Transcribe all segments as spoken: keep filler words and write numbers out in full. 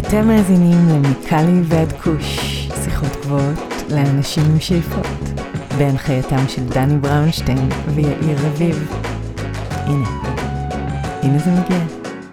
אתם מאזינים למיקלי ועד כוש, שיחות גבוהות לאנשים עם שאיפות, בהנחייתם של דני בראונשטיין ויאיר רביב. הנה, הנה זה מגיע.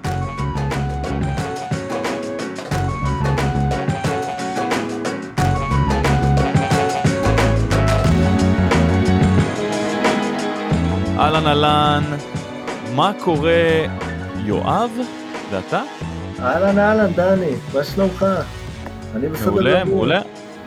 אהלן אהלן, מה קורה? יואב? זה אתה? אהלן אהלן דני, מה שלומך? אני בסדר גמור. מעולה, מעולה.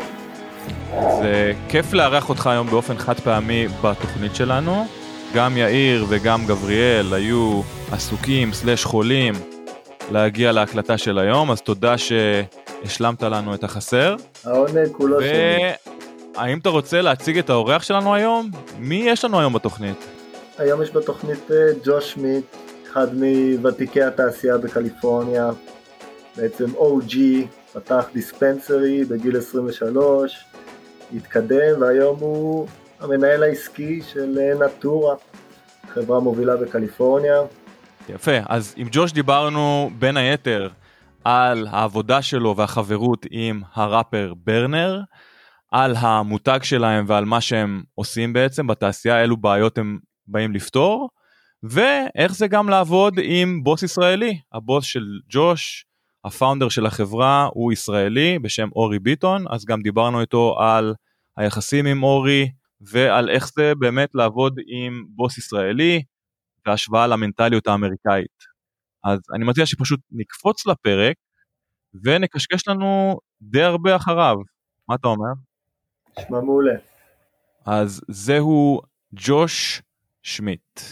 זה כיף לארח אותך היום באופן חד פעמי בתוכנית שלנו. גם יאיר וגם גבריאל היו עסוקים סלש חולים להגיע להקלטה של היום, אז תודה שהשלמת לנו את החסר. העונג כולו ו... שלי. האם אתה רוצה להציג את האורח שלנו היום? מי יש לנו היום בתוכנית? היום יש בתוכנית ג'וש שמיט, אחד מוותיקי התעשייה בקליפורניה, בעצם או ג'י, פתח דיספנסרי בגיל עשרים ושלוש, התקדם והיום הוא המנהל העסקי של נטורה, חברה מובילה בקליפורניה. יפה, אז עם ג'וש דיברנו בין היתר על העבודה שלו והחברות עם הראפר ברנר, על המותג שלהם ועל מה שהם עושים בעצם בתעשייה, אילו בעיות הם באים לפתור, ואיך זה גם לעבוד עם בוס ישראלי. הבוס של ג'וש, הפאונדר של החברה, הוא ישראלי בשם אורי ביטון, אז גם דיברנו איתו על היחסים עם אורי, ועל איך זה באמת לעבוד עם בוס ישראלי, והשוואה למנטליות האמריקאית. אז אני מציע שפשוט נקפוץ לפרק, ונקשקש לנו די הרבה אחריו. מה אתה אומר? נשמע מעולה. אז זהו ג'וש Schmidt.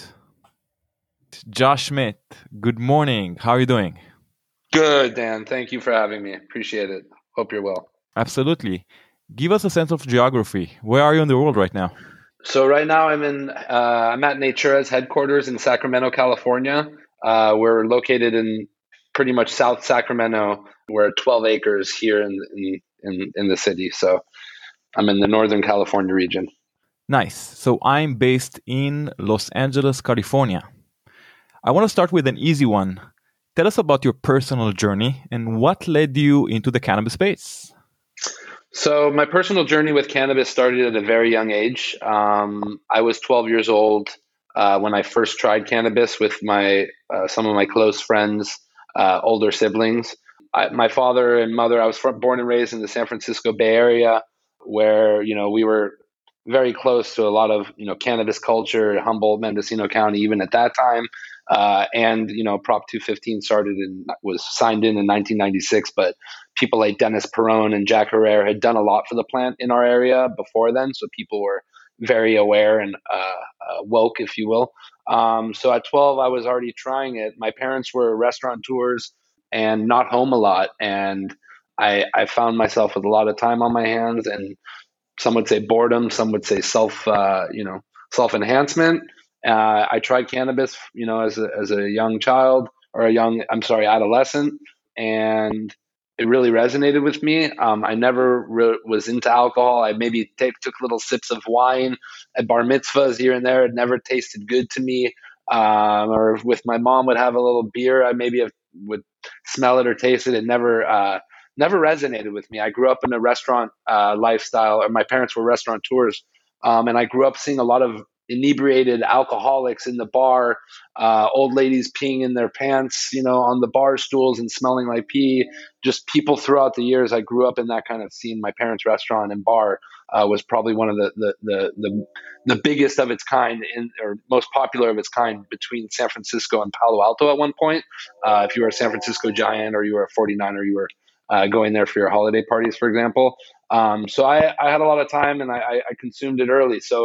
Josh Schmidt, good morning. How are you doing? Good, Dan. Thank you for having me. Appreciate it. Hope you're well. Absolutely. Give us a sense of geography. Where are you in the world right now? So right now I'm in, uh, I'm at Natura's headquarters in Sacramento, California. Uh, we're located in pretty much South Sacramento. We're twelve acres here in, in, in, in the city. So I'm in the Northern California region. Nice. So I'm based in Los Angeles, California. I want to start with an easy one. Tell us about your personal journey and what led you into the cannabis space. So my personal journey with cannabis started at a very young age. Um, I was twelve years old uh, when I first tried cannabis with my uh, some of my close friends, uh, older siblings. I, my father and mother, I was from, born and raised in the San Francisco Bay Area, where you know we were very close to a lot of, you know, cannabis culture, Humboldt, Mendocino County, even at that time. Uh, and, you know, Prop two fifteen started and was signed in in nineteen ninety-six, but people like Dennis Perrone and Jack Herrera had done a lot for the plant in our area before then. So people were very aware and uh, uh, woke, if you will. Um, so at twelve, I was already trying it. My parents were restaurateurs and not home a lot. And I, I found myself with a lot of time on my hands, and some would say boredom, some would say self, uh, you know, self-enhancement. Uh, I tried cannabis, you know, as a, as a young child or a young, I'm sorry, adolescent, and it really resonated with me. Um, I never re- was into alcohol. I maybe take, took little sips of wine at bar mitzvahs here and there. It never tasted good to me. Um, or with my mom would have a little beer, I maybe have, would smell it or taste it. It never, uh, never resonated with me. I grew up in a restaurant uh, lifestyle, or my parents were restaurateurs, um, and I grew up seeing a lot of inebriated alcoholics in the bar, uh, old ladies peeing in their pants, you know, on the bar stools and smelling like pee. Just people throughout the years. I grew up in that kind of scene. My parents' restaurant and bar uh, was probably one of the the, the the the biggest of its kind, in or most popular of its kind between San Francisco and Palo Alto at one point. Uh, if you were a San Francisco Giant or you were a forty-niner, you were Uh, going there for your holiday parties, for example. Um, so I, I had a lot of time and I, I, I consumed it early. So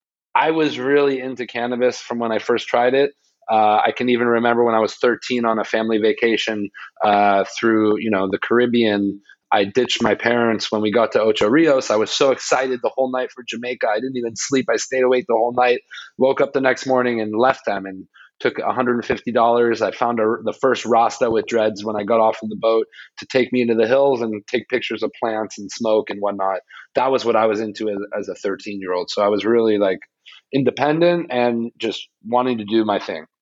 I was really into cannabis from when I first tried it. Uh, I can even remember when I was thirteen on a family vacation uh, through, you know, the Caribbean. I ditched my parents when we got to Ocho Rios. I was so excited the whole night for Jamaica. I didn't even sleep. I stayed awake the whole night, woke up the next morning and left them and took one hundred fifty dollars. I found a, the first Rasta with dreads when I got off of the boat to take me into the hills and take pictures of plants and smoke and whatnot. That was what I was into as, as a thirteen-year-old. So I was really like independent and just wanting to do my thing.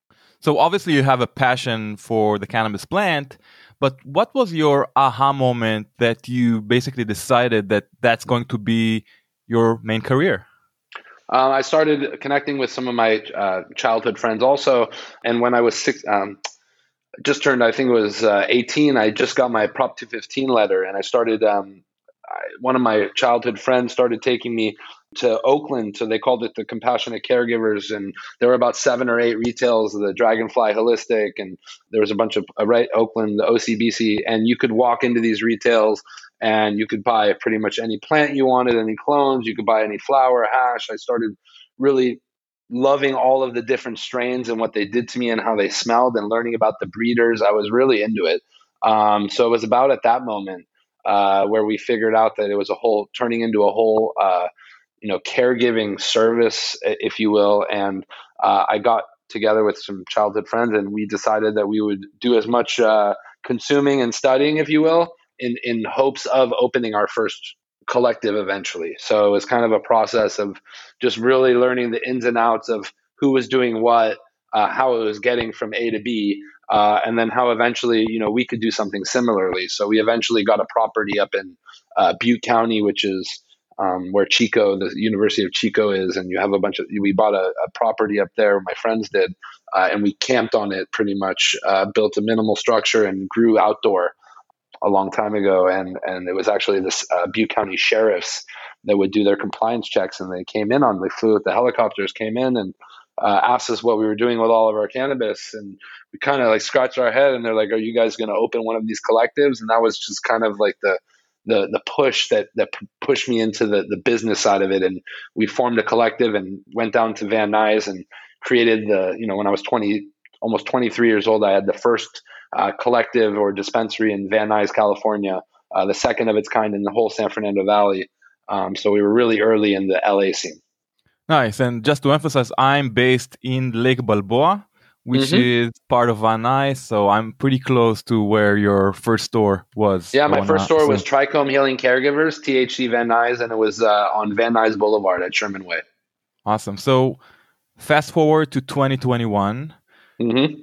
So obviously you have a passion for the cannabis plant, but what was your aha moment that you basically decided that that's going to be your main career? Uh, I started connecting with some of my uh, childhood friends also. And when I was six, um, just turned, I think it was uh, eighteen, I just got my Prop two fifteen letter, and I started, um, I, one of my childhood friends started taking me to Oakland. So they called it the Compassionate Caregivers. And there were about seven or eight retails, the Dragonfly Holistic, and there was a bunch of, uh, right, Oakland, the O C B C. And you could walk into these retails and you could buy pretty much any plant you wanted, any clones, you could buy any flower, hash. I started really loving all of the different strains and what they did to me and how they smelled, and learning about the breeders. I was really into it. Um, so it was about at that moment uh, where we figured out that it was a whole turning into a whole, uh, you know, caregiving service, if you will. And uh, I got together with some childhood friends, and we decided that we would do as much uh, consuming and studying, if you will, in, in hopes of opening our first collective eventually. So it was kind of a process of just really learning the ins and outs of who was doing what, uh, how it was getting from A to B, uh, and then how eventually, you know, we could do something similarly. So we eventually got a property up in uh, Butte County, which is um, where Chico, the University of Chico is, and you have a bunch of, we bought a, a property up there, my friends did, uh, and we camped on it pretty much, uh, built a minimal structure and grew outdoor a long time ago. And, and it was actually this uh, Butte County sheriffs that would do their compliance checks, and they came in on, they flew with the helicopters, came in and uh, asked us what we were doing with all of our cannabis. And we kind of like scratched our head, and they're like, are you guys going to open one of these collectives? And that was just kind of like the, the, the push that, that pushed me into the, the business side of it. And we formed a collective and went down to Van Nuys and created the, you know, when I was twenty, almost twenty-three years old, I had the first uh, collective or dispensary in Van Nuys, California, uh, the second of its kind in the whole San Fernando Valley. Um, so we were really early in the L A scene. Nice. And just to emphasize, I'm based in Lake Balboa, which mm-hmm. is part of Van Nuys. So I'm pretty close to where your first store was. Yeah, my first store so. was Trichome Healing Caregivers, T H C Van Nuys, and it was uh, on Van Nuys Boulevard at Sherman Way. Awesome. So fast forward to twenty twenty-one. Mm-hmm.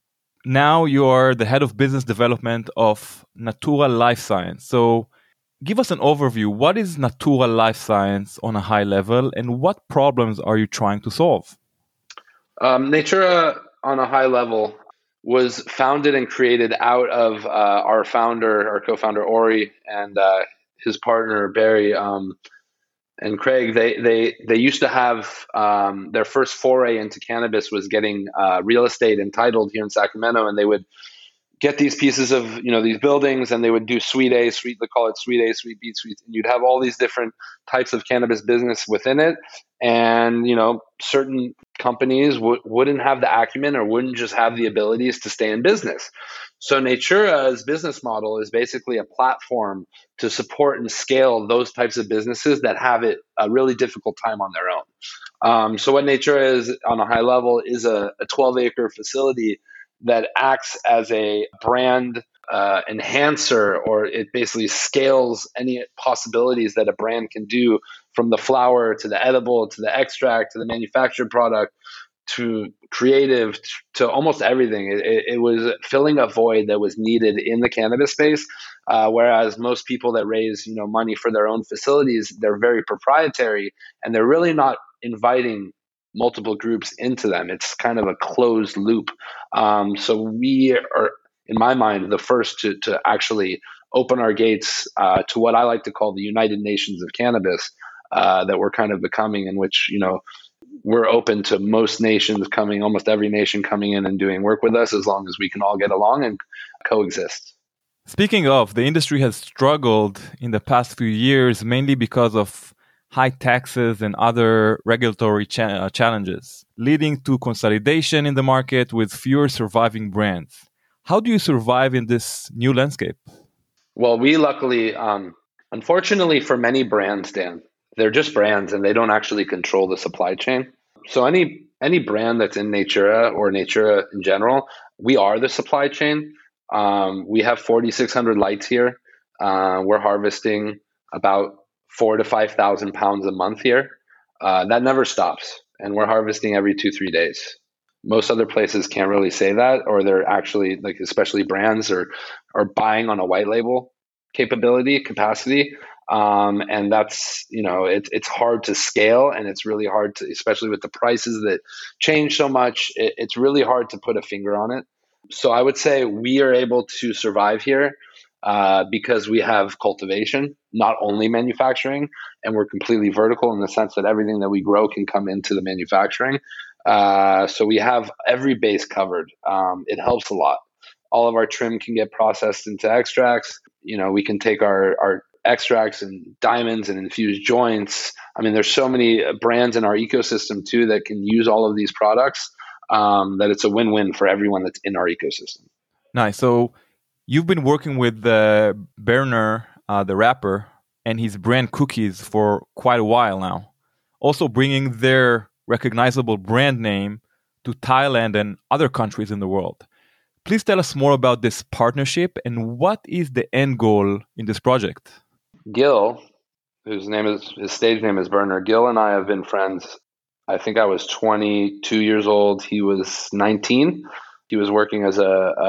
Now you are the head of business development of Natura Life Science. So give us an overview. What is Natura Life Science on a high level, and what problems are you trying to solve? Um, Natura on a high level was founded and created out of uh, our founder, our co-founder Ori, and uh, his partner Barry um, and Craig. They they they used to have um, their first foray into cannabis was getting uh, real estate entitled here in Sacramento, and they would get these pieces of, you know, these buildings, and they would do suite A, suite, they call it suite A, suite B, suite, and you'd have all these different types of cannabis business within it. And, you know, certain companies w- wouldn't have the acumen or wouldn't just have the abilities to stay in business. So Natura's business model is basically a platform to support and scale those types of businesses that have it a really difficult time on their own. Um, so what Natura is on a high level is a, a twelve acre facility that acts as a brand uh, enhancer, or it basically scales any possibilities that a brand can do, from the flower to the edible to the extract to the manufactured product to creative to almost everything. It, it, it was filling a void that was needed in the cannabis space, uh, whereas most people that raise, you know, money for their own facilities, they're very proprietary and they're really not inviting multiple groups into them. It's kind of a closed loop. Um, so we are, in my mind, the first to, to actually open our gates uh, to what I like to call the United Nations of cannabis, uh, that we're kind of becoming, in which, you know, we're open to most nations coming, almost every nation coming in and doing work with us, as long as we can all get along and coexist. Speaking of, the industry has struggled in the past few years, mainly because of high taxes and other regulatory cha- uh, challenges, leading to consolidation in the market with fewer surviving brands. How do you survive in this new landscape? Well, we luckily, um, unfortunately for many brands, Dan, they're just brands and they don't actually control the supply chain. So any any brand that's in Natura or Natura in general, we are the supply chain. Um, we have forty-six hundred lights here. Uh, we're harvesting about four to five thousand pounds a month here. Uh, that never stops, and we're harvesting every two three days. Most other places can't really say that, or they're actually like, especially brands are are buying on a white label capability capacity. Um, and that's, you know, it, it's hard to scale, and it's really hard to, especially with the prices that change so much, it, it's really hard to put a finger on it. So I would say we are able to survive here uh, because we have cultivation, not only manufacturing, and we're completely vertical in the sense that everything that we grow can come into the manufacturing. Uh, so we have every base covered. Um, it helps a lot. All of our trim can get processed into extracts. You know, we can take our, our extracts and diamonds and infused joints. I mean, there's so many brands in our ecosystem too that can use all of these products um, that it's a win-win for everyone that's in our ecosystem. Nice. So you've been working with uh, Berner, uh, the rapper, and his brand Cookies for quite a while now. Also bringing their recognizable brand name to Thailand and other countries in the world. Please tell us more about this partnership and what is the end goal in this project? Gil, whose name is, his stage name is Berner, Gil and I have been friends. I think I was twenty-two years old. He was nineteen. He was working as a,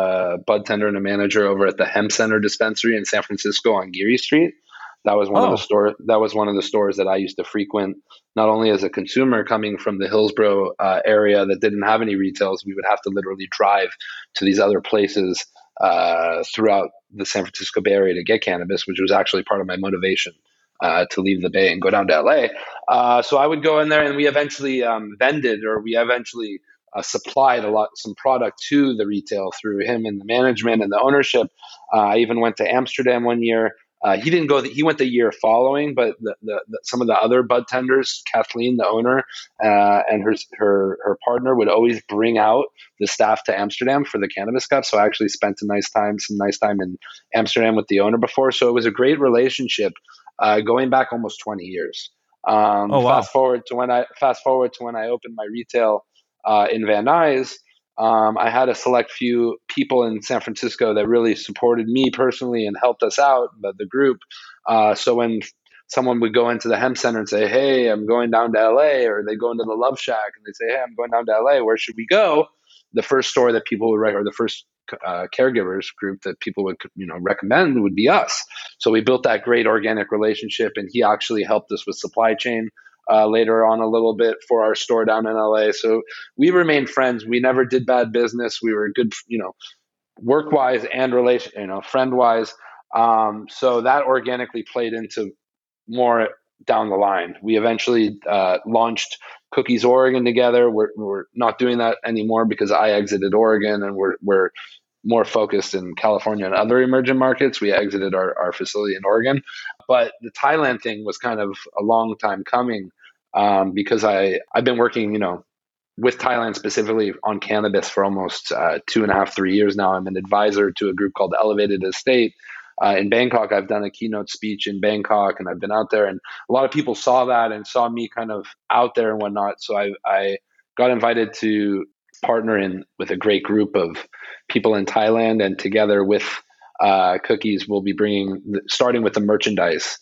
a bud tender and a manager over at the Hemp Center dispensary in San Francisco on Geary Street. That was one oh. of the stores. That was one of the stores that I used to frequent, not only as a consumer coming from the Hillsborough uh, area that didn't have any retails. We would have to literally drive to these other places uh, throughout the San Francisco Bay Area to get cannabis, which was actually part of my motivation uh, to leave the Bay and go down to L A. Uh, so I would go in there, and we eventually um, vended, or we eventually uh, supplied a lot, some product to the retail through him and the management and the ownership. Uh, I even went to Amsterdam one year. Uh, he didn't go. The, he went the year following, but the, the, the, some of the other bud tenders, Kathleen, the owner, uh, and her her her partner would always bring out the staff to Amsterdam for the Cannabis Cup. So I actually spent a nice time, some nice time in Amsterdam with the owner before. So it was a great relationship, uh, going back almost twenty years. Um, oh, wow. Fast forward to when I fast forward to when I opened my retail uh, in Van Nuys. Um, I had a select few people in San Francisco that really supported me personally and helped us out, but the group. Uh, so when someone would go into the Hemp Center and say, "Hey, I'm going down to L A," or they go into the Love Shack and they say, "Hey, I'm going down to L A. Where should we go?" The first store that people would recommend, or the first uh, caregivers group that people would, you know, recommend would be us. So we built that great organic relationship, and he actually helped us with supply chain. Uh, later on a little bit for our store down in L A. So we remained friends. We never did bad business. We were good, you know, work-wise and relation, you know, friend-wise. Um, so that organically played into more down the line. We eventually uh, launched Cookies Oregon together. We're, we're not doing that anymore because I exited Oregon, and we're we're more focused in California and other emerging markets. We exited our, our facility in Oregon. But the Thailand thing was kind of a long time coming. Um, because I, I've been working, you know, with Thailand specifically on cannabis for almost uh, two and a half, three years now. I'm an advisor to a group called Elevated Estate uh, in Bangkok. I've done a keynote speech in Bangkok, and I've been out there, and a lot of people saw that and saw me kind of out there and whatnot. So I, I got invited to partner in with a great group of people in Thailand, and together with uh, Cookies, we'll be bringing, starting with the merchandise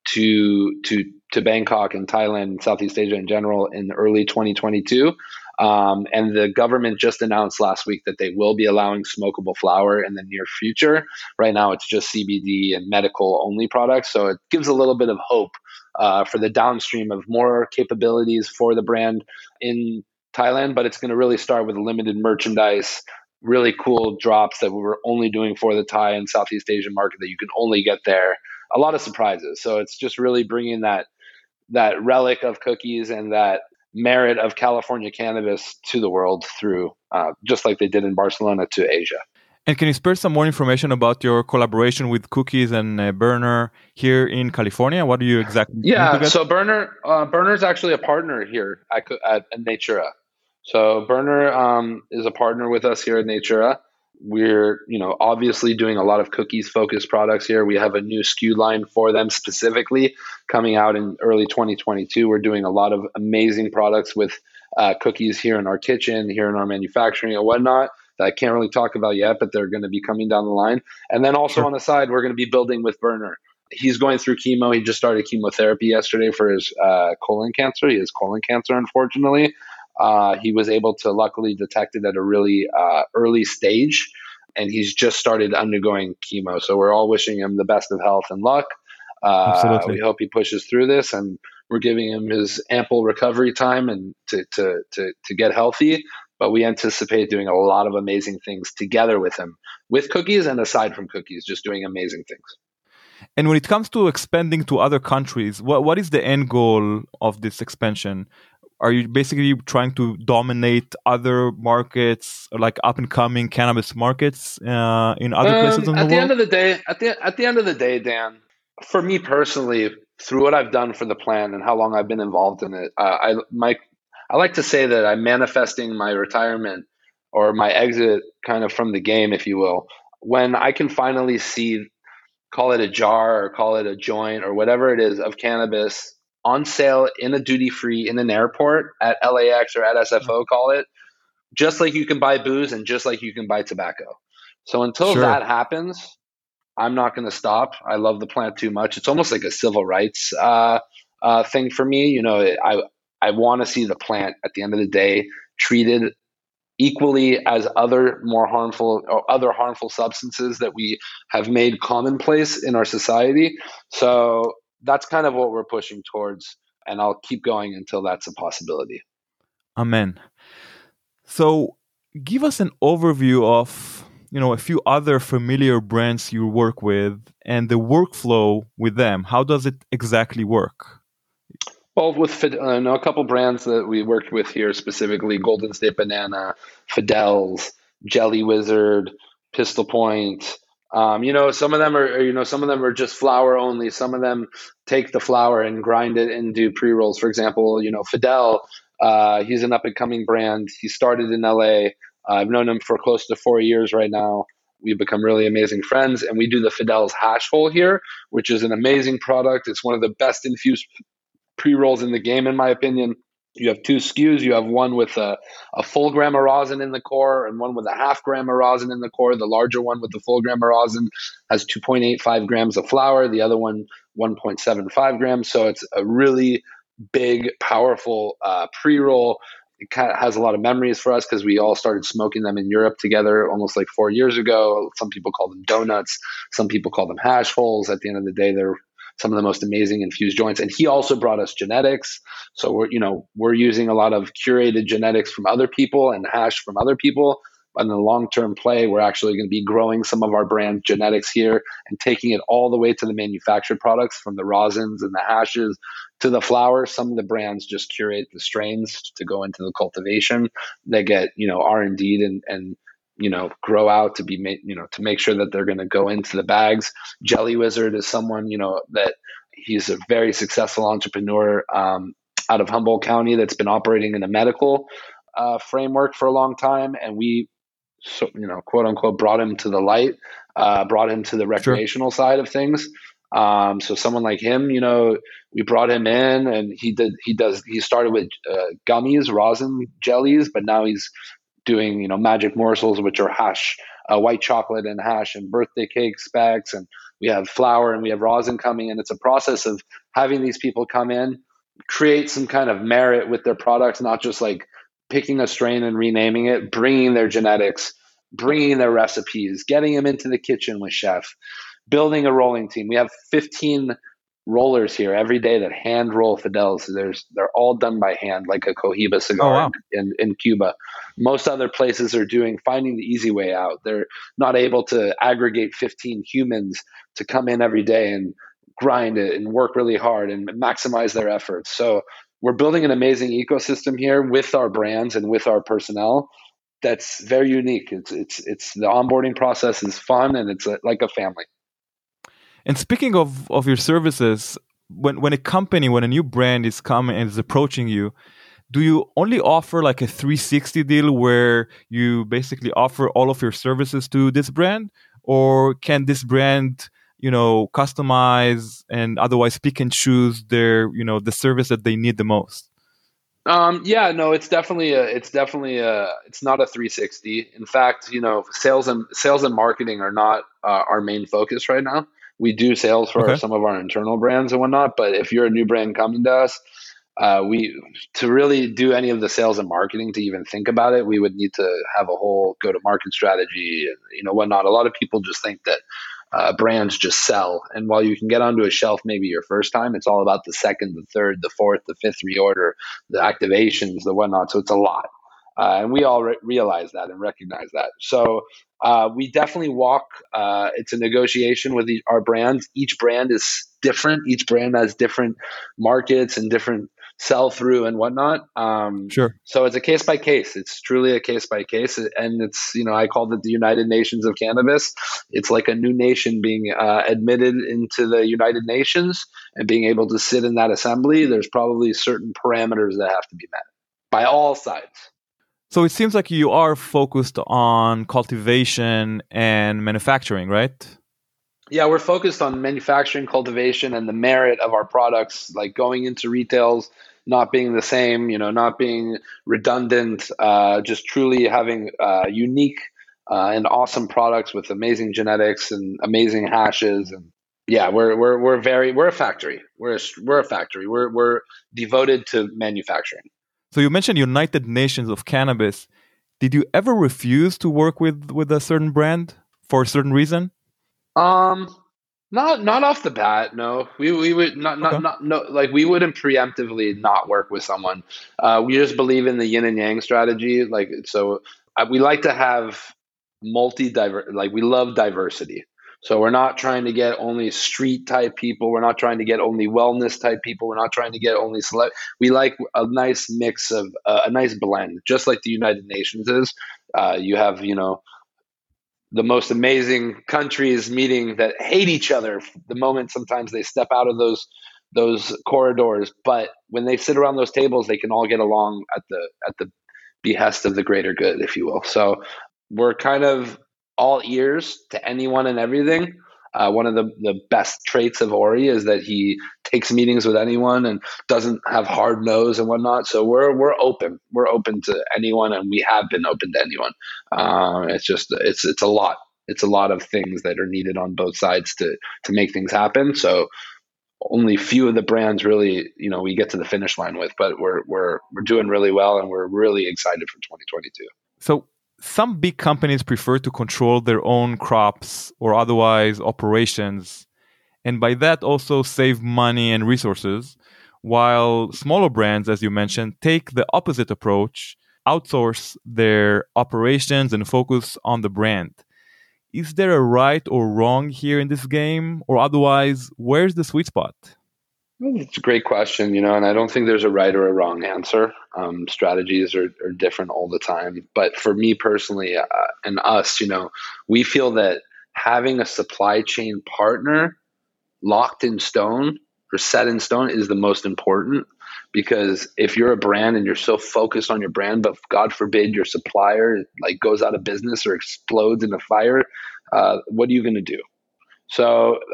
to to to Bangkok and Thailand and Southeast Asia in general in early twenty twenty-two. Um, and the government just announced last week that they will be allowing smokable flower in the near future. Right now, it's just C B D and medical only products. So it gives a little bit of hope uh, for the downstream of more capabilities for the brand in Thailand. But it's going to really start with limited merchandise, really cool drops that we were only doing for the Thai and Southeast Asian market that you can only get there. A lot of surprises. So it's just really bringing that that relic of Cookies and that merit of California cannabis to the world through, uh, just like they did in Barcelona, to Asia. And can you spare some more information about your collaboration with Cookies and uh, Berner here in California? What do you exactly? Yeah, so Berner uh, Berner is actually a partner here at, at, at Natura. So Berner um, is a partner with us here at Natura. We're, you know, obviously doing a lot of cookies focused products here. We have a new S K U line for them specifically coming out in early twenty twenty-two. We're doing a lot of amazing products with uh, cookies here in our kitchen, here in our manufacturing and whatnot that I can't really talk about yet, but they're going to be coming down the line. And then also sure. on the side, we're going to be building with Berner. He's going through chemo. He just started chemotherapy yesterday for his uh, colon cancer. He has colon cancer, unfortunately. Uh, he was able to luckily detect it at a really uh, early stage, and he's just started undergoing chemo. So we're all wishing him the best of health and luck. Uh, Absolutely. we hope he pushes through this, and we're giving him his ample recovery time and to, to, to, to get healthy. But we anticipate doing a lot of amazing things together with him, with cookies and aside from cookies, just doing amazing things. And when it comes to expanding to other countries, what what is the end goal of this expansion? Are you basically trying to dominate other markets, like up and coming cannabis markets uh, in other um, places in the at world? the end of the day, at the at the end of the day, Dan, for me personally, through what I've done for the plan and how long I've been involved in it, uh, I my I like to say that I'm manifesting my retirement or my exit kind of from the game, if you will, when I can finally see, call it a jar or call it a joint or whatever it is of cannabis on sale in a duty free in an airport at L A X or at S F O, call it, just like you can buy booze and just like you can buy tobacco. So until Sure. that happens, I'm not going to stop. I love the plant too much. It's almost like a civil rights uh, uh, thing for me. You know, I I want to see the plant at the end of the day treated equally as other more harmful or other harmful substances that we have made commonplace in our society. So that's kind of what we're pushing towards, and I'll keep going until that's a possibility. Amen. So give us an overview of, you know, a few other familiar brands you work with and the workflow with them. How does it exactly work? Well, with uh, I know a couple brands that we worked with here specifically: Golden State Banana, Fidel's, Jelly Wizard, Pistol Point. Um, you know, some of them are, you know, some of them are just flower only. Some of them take the flower and grind it and do pre rolls. For example, you know, Fidel. Uh, he's an up and coming brand. He started in L A. Uh, I've known him for close to four years right now. We've become really amazing friends, and we do the Fidel's hash hole here, which is an amazing product. It's one of the best infused pre-rolls in the game, in my opinion. You have two S K Us. You have one with a, a full gram of rosin in the core and one with a half gram of rosin in the core. The larger one with the full gram of rosin has two point eight five grams of flour. The other one, one point seven five grams. So it's a really big, powerful uh, pre-roll. It kind of has a lot of memories for us because we all started smoking them in Europe together almost like four years ago. Some people call them donuts. Some people call them hash holes. At the end of the day, they're some of the most amazing infused joints. And he also brought us genetics. So we're, you know, we're using a lot of curated genetics from other people and hash from other people. But in the long-term play, we're actually going to be growing some of our brand genetics here and taking it all the way to the manufactured products, from the rosins and the hashes to the flour. Some of the brands just curate the strains to go into the cultivation. They get, you know, R and D'd and, and, you know, grow out to be made, you know, to make sure that they're going to go into the bags. Jelly Wizard is someone, you know, that he's a very successful entrepreneur um, out of Humboldt County that's been operating in a medical uh, framework for a long time. And we, so, you know, quote unquote, brought him to the light, uh, brought him to the recreational sure. side of things. Um, so someone like him, you know, we brought him in and he did, he does, he started with uh, gummies, rosin jellies, but now he's doing, you know, magic morsels, which are hash, uh, white chocolate and hash and birthday cake specs. And we have flour and we have rosin coming in. It's a process of having these people come in, create some kind of merit with their products, not just like picking a strain and renaming it, bringing their genetics, bringing their recipes, getting them into the kitchen with chef, building a rolling team. We have fifteen rollers here every day that hand roll Fidel's. There's they're all done by hand, like a Cohiba cigar. Oh, wow. in, in Cuba. Most other places are doing finding the easy way out. They're not able to aggregate fifteen humans to come in every day and grind it and work really hard and maximize their efforts. So we're building an amazing ecosystem here with our brands and with our personnel. That's very unique. It's it's it's the onboarding process is fun and it's a, like a family. And speaking of, of your services, when, when a company, when a new brand is coming and is approaching you, do you only offer like a three sixty deal where you basically offer all of your services to this brand? Or can this brand, you know, customize and otherwise pick and choose their, you know, the service that they need the most? Um, yeah, no, it's definitely a, it's definitely a, it's not a three sixty. In fact, you know, sales and sales and marketing are not uh, our main focus right now. We do sales for okay. some of our internal brands and whatnot, but if you're a new brand coming to us, uh, we to really do any of the sales and marketing to even think about it, we would need to have a whole go-to-market strategy and you know whatnot. A lot of people just think that uh, brands just sell, and while you can get onto a shelf maybe your first time, it's all about the second, the third, the fourth, the fifth reorder, the activations, the whatnot. So it's a lot. Uh, and we all re- realize that and recognize that. So uh, we definitely walk. Uh, it's a negotiation with the, our brands. Each brand is different. Each brand has different markets and different sell through and whatnot. Um, Sure. So it's a case by case. It's truly a case by case. And it's, you know, I called it the United Nations of cannabis. It's like a new nation being uh, admitted into the United Nations and being able to sit in that assembly. There's probably certain parameters that have to be met by all sides. So it seems like you are focused on cultivation and manufacturing, right? Yeah, we're focused on manufacturing, cultivation, and the merit of our products, like going into retails, not being the same, you know, not being redundant, uh, just truly having uh, unique uh, and awesome products with amazing genetics and amazing hashes. And yeah, we're we're we're very we're a factory. We're a, we're a factory. We're we're devoted to manufacturing. So you mentioned United Nations of Cannabis. Did you ever refuse to work with, with a certain brand for a certain reason? Um, not not off the bat. No, we we would not not Okay. not no like we wouldn't preemptively not work with someone. Uh, we just believe in the yin and yang strategy. Like so, uh, we like to have multi diver. Like we love diversity. So we're not trying to get only street type people. We're not trying to get only wellness type people. We're not trying to get only select. We like a nice mix of uh, a nice blend, just like the United Nations is. Uh, you have you know. the most amazing countries meeting that hate each other the moment sometimes they step out of those those corridors, but when they sit around those tables they can all get along at the at the behest of the greater good, if you will. So we're kind of all ears to anyone and everything. Uh, one of the, the best traits of Ori is that he takes meetings with anyone and doesn't have hard nose and whatnot. So we're we're open. We're open to anyone, and we have been open to anyone. Uh, it's just it's it's a lot. It's a lot of things that are needed on both sides to to make things happen. So only few of the brands really, you know, we get to the finish line with, but we're we're we're doing really well, and we're really excited for twenty twenty-two. So some big companies prefer to control their own crops or otherwise operations, and by that also save money and resources, while smaller brands, as you mentioned, take the opposite approach, outsource their operations and focus on the brand. Is there a right or wrong here in this game, or otherwise, where's the sweet spot? It's a great question, you know, and I don't think there's a right or a wrong answer. Um, strategies are, are different all the time. But for me personally uh, and us, you know, we feel that having a supply chain partner locked in stone or set in stone is the most important, because if you're a brand and you're so focused on your brand, but God forbid your supplier like goes out of business or explodes in a fire, uh, what are you going to do? So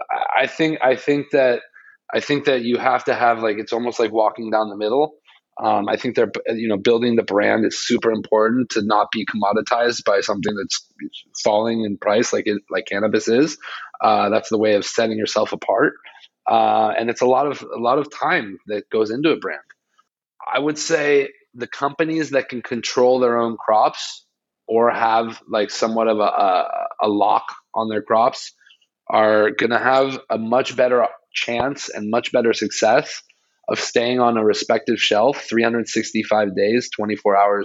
I think I think that I think that you have to have like it's almost like walking down the middle. Um, I think they're you know building the brand is super important to not be commoditized by something that's falling in price like it, like cannabis is. Uh, that's the way of setting yourself apart, uh, and it's a lot of a lot of time that goes into a brand. I would say the companies that can control their own crops or have like somewhat of a, a, a lock on their crops are going to have a much better chance and much better success of staying on a respective shelf three hundred sixty-five days, twenty-four hours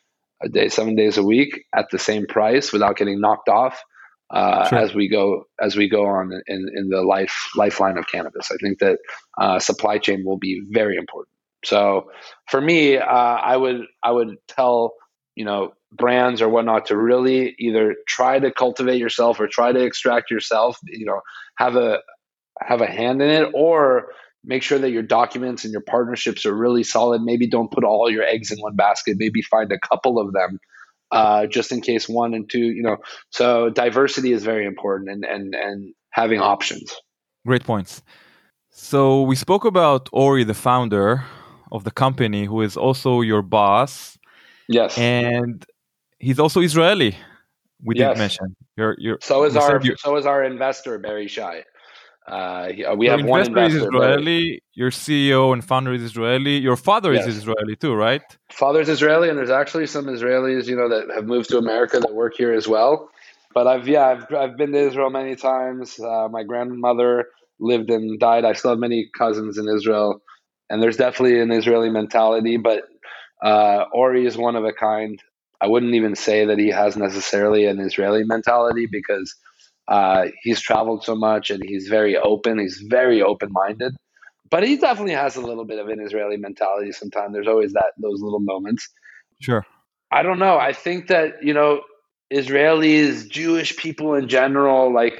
a day, seven days a week at the same price without getting knocked off uh, Sure. as we go as we go on in, in the life lifeline of cannabis. I think that uh, supply chain will be very important. So for me, uh, I would I would tell you know brands or whatnot to really either try to cultivate yourself or try to extract yourself. You know, have a have a hand in it, or make sure that your documents and your partnerships are really solid. Maybe don't put all your eggs in one basket. Maybe find a couple of them, uh, just in case one and two, you know, so diversity is very important and, and, and having options. Great points. So we spoke about Ori, the founder of the company, who is also your boss. Yes. And he's also Israeli. We Yes. didn't mention. You're, you're, so is you our said you- so is our investor, Barry Shai. Uh, we Your have one investor is investor. Israeli, But your C E O and founder is Israeli, your father yes. is Israeli too, right? Father's Israeli, and there's actually some Israelis, you know, that have moved to America that work here as well. But I've, yeah, I've, I've been to Israel many times. Uh, my grandmother lived and died. I still have many cousins in Israel, and there's definitely an Israeli mentality, but uh, Ori is one of a kind. I wouldn't even say that he has necessarily an Israeli mentality because uh, he's traveled so much and he's very open. He's very open-minded. But he definitely has a little bit of an Israeli mentality sometimes. There's always that those little moments. Sure. I don't know. I think that, you know, Israelis, Jewish people in general, like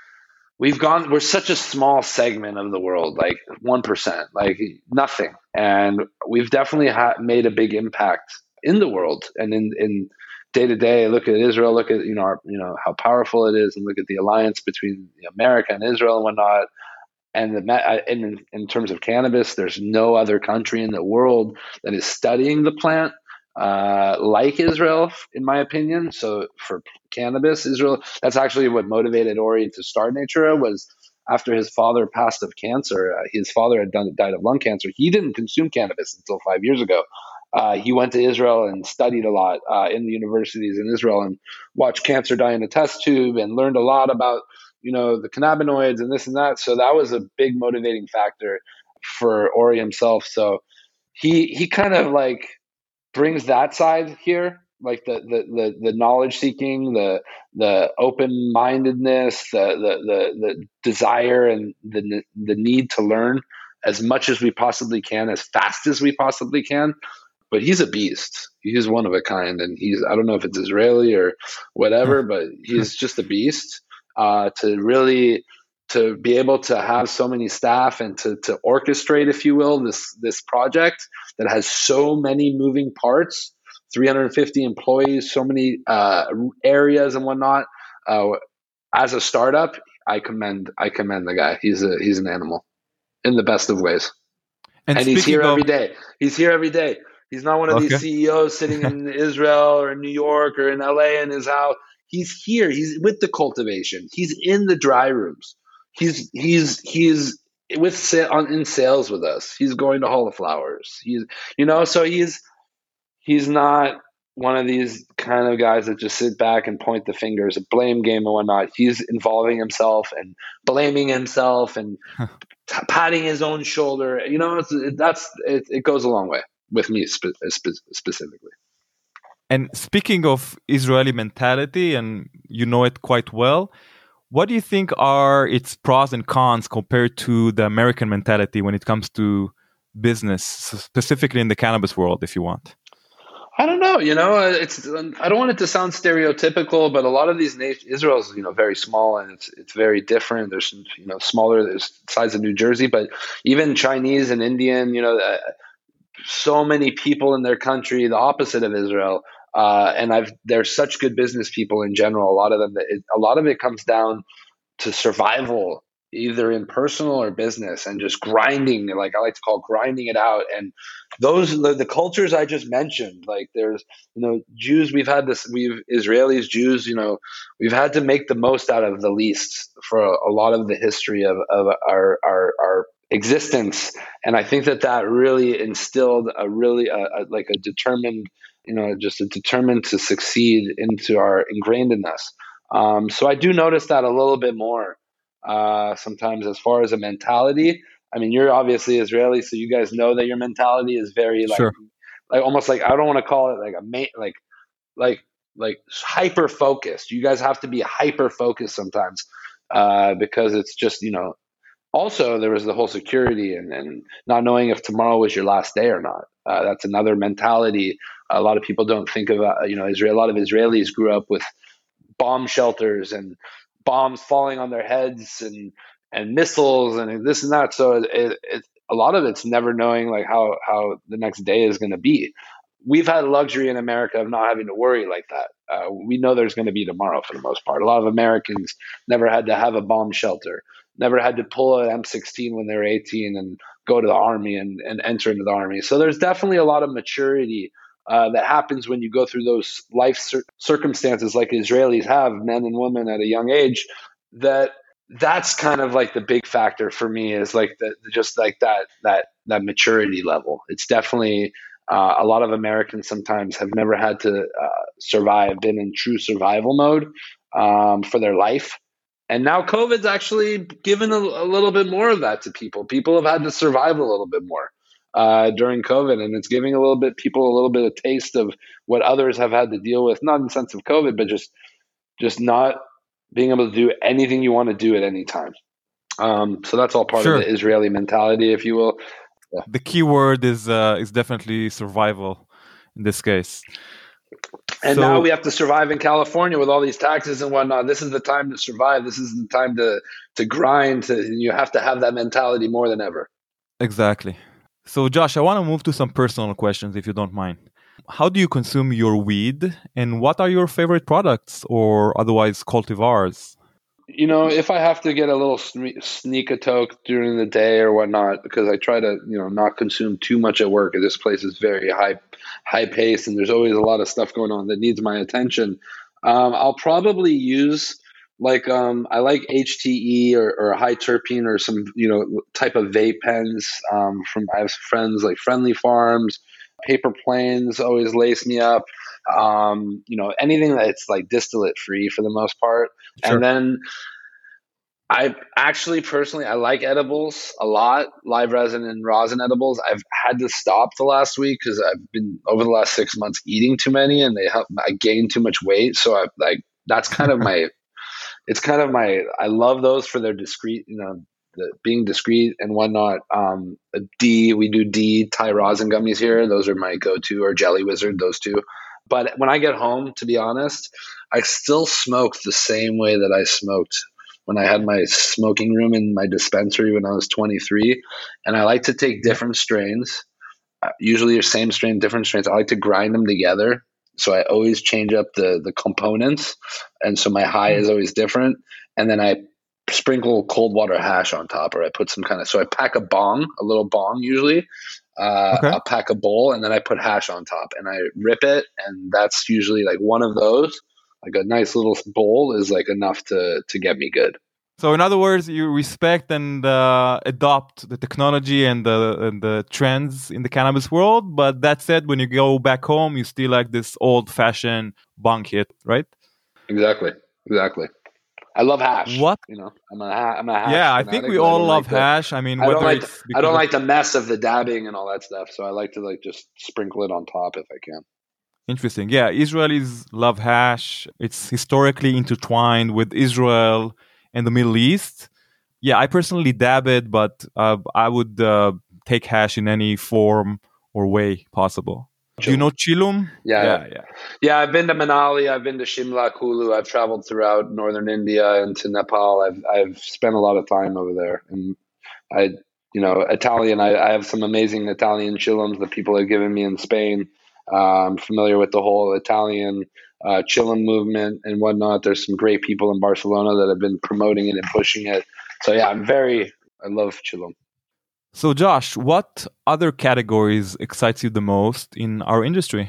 we've gone, we're such a small segment of the world, like one percent, like nothing. And we've definitely ha- made a big impact in the world and in, in day to day. Look at Israel, look at, you know, our, you know, how powerful it is, and look at the alliance between America and Israel and whatnot. And the, in, in terms of cannabis, there's no other country in the world that is studying the plant uh, like Israel, in my opinion. So for cannabis, Israel, that's actually what motivated Ori to start Natura. Was after his father passed of cancer. Uh, his father had done, died of lung cancer. He didn't consume cannabis until five years ago. Uh, he went to Israel and studied a lot uh, in the universities in Israel and watched cancer die in a test tube and learned a lot about, you know, the cannabinoids and this and that. So that was a big motivating factor for Ori himself. So he he kind of like brings that side here, like the the the, the knowledge seeking, the the open mindedness, the, the the the desire and the the need to learn as much as we possibly can, as fast as we possibly can. But he's a beast. He's one of a kind, and he's I don't know if it's Israeli or whatever, but he's just a beast. Uh, to really to be able to have so many staff and to to orchestrate, if you will, this this project that has so many moving parts, three hundred fifty employees, so many uh, areas and whatnot. Uh, as a startup, I commend I commend the guy. He's a he's an animal in the best of ways, and, and he's here of- every day. He's here every day. He's not one of okay. these C E Os sitting in Israel or New York or in L A in his house. He's here. He's with the cultivation. He's in the dry rooms. He's he's he's with on in sales with us. He's going to Hall of Flowers. He's you know so he's he's not one of these kind of guys that just sit back and point the fingers, a blame game and whatnot. He's involving himself and blaming himself and t- patting his own shoulder. You know, it's, it, that's it, it goes a long way with me spe- spe- specifically. And speaking of Israeli mentality, and you know it quite well, what do you think are its pros and cons compared to the American mentality when it comes to business, specifically in the cannabis world, if you want? I don't know. You know, it's I don't want it to sound stereotypical, but a lot of these nations, Israel's you know very small and it's it's very different. There's you know smaller, there's the size of New Jersey, but even Chinese and Indian, you know, uh, so many people in their country, the opposite of Israel. Uh, and I've there's such good business people in general. A lot of them, it, a lot of it comes down to survival, either in personal or business, and just grinding. Like I like to call grinding it out. And those the, the cultures I just mentioned. Like there's you know Jews. We've had this. We've Israelis, Jews. You know, we've had to make the most out of the least for a, a lot of the history of of our our our existence. And I think that that really instilled a really a, a, like a determined. You know, just a determined to succeed into our ingrained in us. Um, so I do notice that a little bit more uh, sometimes as far as a mentality. I mean, you're obviously Israeli, so you guys know that your mentality is very like, sure. like almost like I don't want to call it like a ma- like like like hyper focused. You guys have to be hyper focused sometimes uh, because it's just you know. Also, there was the whole security and, and not knowing if tomorrow was your last day or not. Uh, that's another mentality. A lot of people don't think of, uh, you know, Israel. A lot of Israelis grew up with bomb shelters and bombs falling on their heads and, and missiles and this and that. So it, it, a lot of it's never knowing like how, how the next day is going to be. We've had luxury in America of not having to worry like that. Uh, we know there's going to be tomorrow for the most part. A lot of Americans never had to have a bomb shelter. Never had to pull an M sixteen when they were eighteen and go to the army and, and enter into the army. So there's definitely a lot of maturity uh, that happens when you go through those life cir- circumstances like Israelis have, men and women at a young age, that that's kind of like the big factor for me is like the, just like that, that, that maturity level. It's definitely uh, a lot of Americans sometimes have never had to uh, survive, been in true survival mode um, for their life. And now COVID's actually given a, a little bit more of that to people. People have had to survive a little bit more uh, during COVID, and it's giving a little bit people a little bit of taste of what others have had to deal with, not in the sense of COVID, but just just not being able to do anything you want to do at any time. Um, so that's all part Sure. of the Israeli mentality, if you will. Yeah. The key word is uh, is definitely survival in this case. And So- now we have to survive in California with all these taxes and whatnot. This is the time to survive. This is the time to to grind. To, you have to have that mentality more than ever. Exactly. So, Josh, I want to move to some personal questions, if you don't mind. How do you consume your weed, and what are your favorite products or otherwise cultivars? You know, if I have to get a little sne- sneak a toke during the day or whatnot, because I try to, you know, not consume too much at work. This place is very high, high paced, and there's always a lot of stuff going on that needs my attention. Um, I'll probably use like um, I like H T E or, or high terpene or some, you know, type of vape pens. Um, from I have friends like Friendly Farms, Paper Planes always lace me up. Um, you know, anything that's like distillate free for the most part. Sure. And then I actually personally, I like edibles a lot, live resin and rosin edibles. I've had to stop the last week because I've been over the last six months eating too many, and they help, I gained too much weight. So I like, that's kind of my, it's kind of my, I love those for their discreet, you know, the, being discreet and whatnot. Um, D, we do D Thai rosin gummies here. Those are my go-to, or Jelly Wizard, those two. But when I get home, to be honest, I still smoke the same way that I smoked when I had my smoking room in my dispensary when I was twenty-three. And I like to take different strains, usually the same strain, different strains. I like to grind them together. So I always change up the, the components. And so my high is always different. And then I sprinkle cold water hash on top, or I put some kind of, so I pack a bong, a little bong usually. Uh, Okay. I'll pack a bowl, and then I put hash on top, and I rip it. And that's usually like one of those, like a nice little bowl is like enough to, to get me good. So, in other words, you respect and uh, adopt the technology and the and the trends in the cannabis world. But that said, when you go back home, you still like this old-fashioned bong hit, right? Exactly. Exactly. I love hash. What? You know, I'm a, ha- I'm a hash Yeah, I fanatic, think we but I all don't love like the- hash. I mean, I whether don't like it's I because don't of- like the mess of the dabbing and all that stuff. So I like to like just sprinkle it on top if I can. Interesting. Yeah, Israelis love hash. It's historically intertwined with Israel and the Middle East. Yeah, I personally dab it, but uh, I would uh, take hash in any form or way possible. Do you know Chilum? Yeah, yeah, yeah. Yeah, I've been to Manali, I've been to Shimla, Kulu, I've traveled throughout northern India and to Nepal. I've I've spent a lot of time over there, and I, you know, Italian. I, I have some amazing Italian chillums that people have given me in Spain. Uh, I'm familiar with the whole Italian uh, chillum movement and whatnot. There's some great people in Barcelona that have been promoting it and pushing it. So yeah, I'm very, I love chillum. So, Josh, what other categories excites you the most in our industry?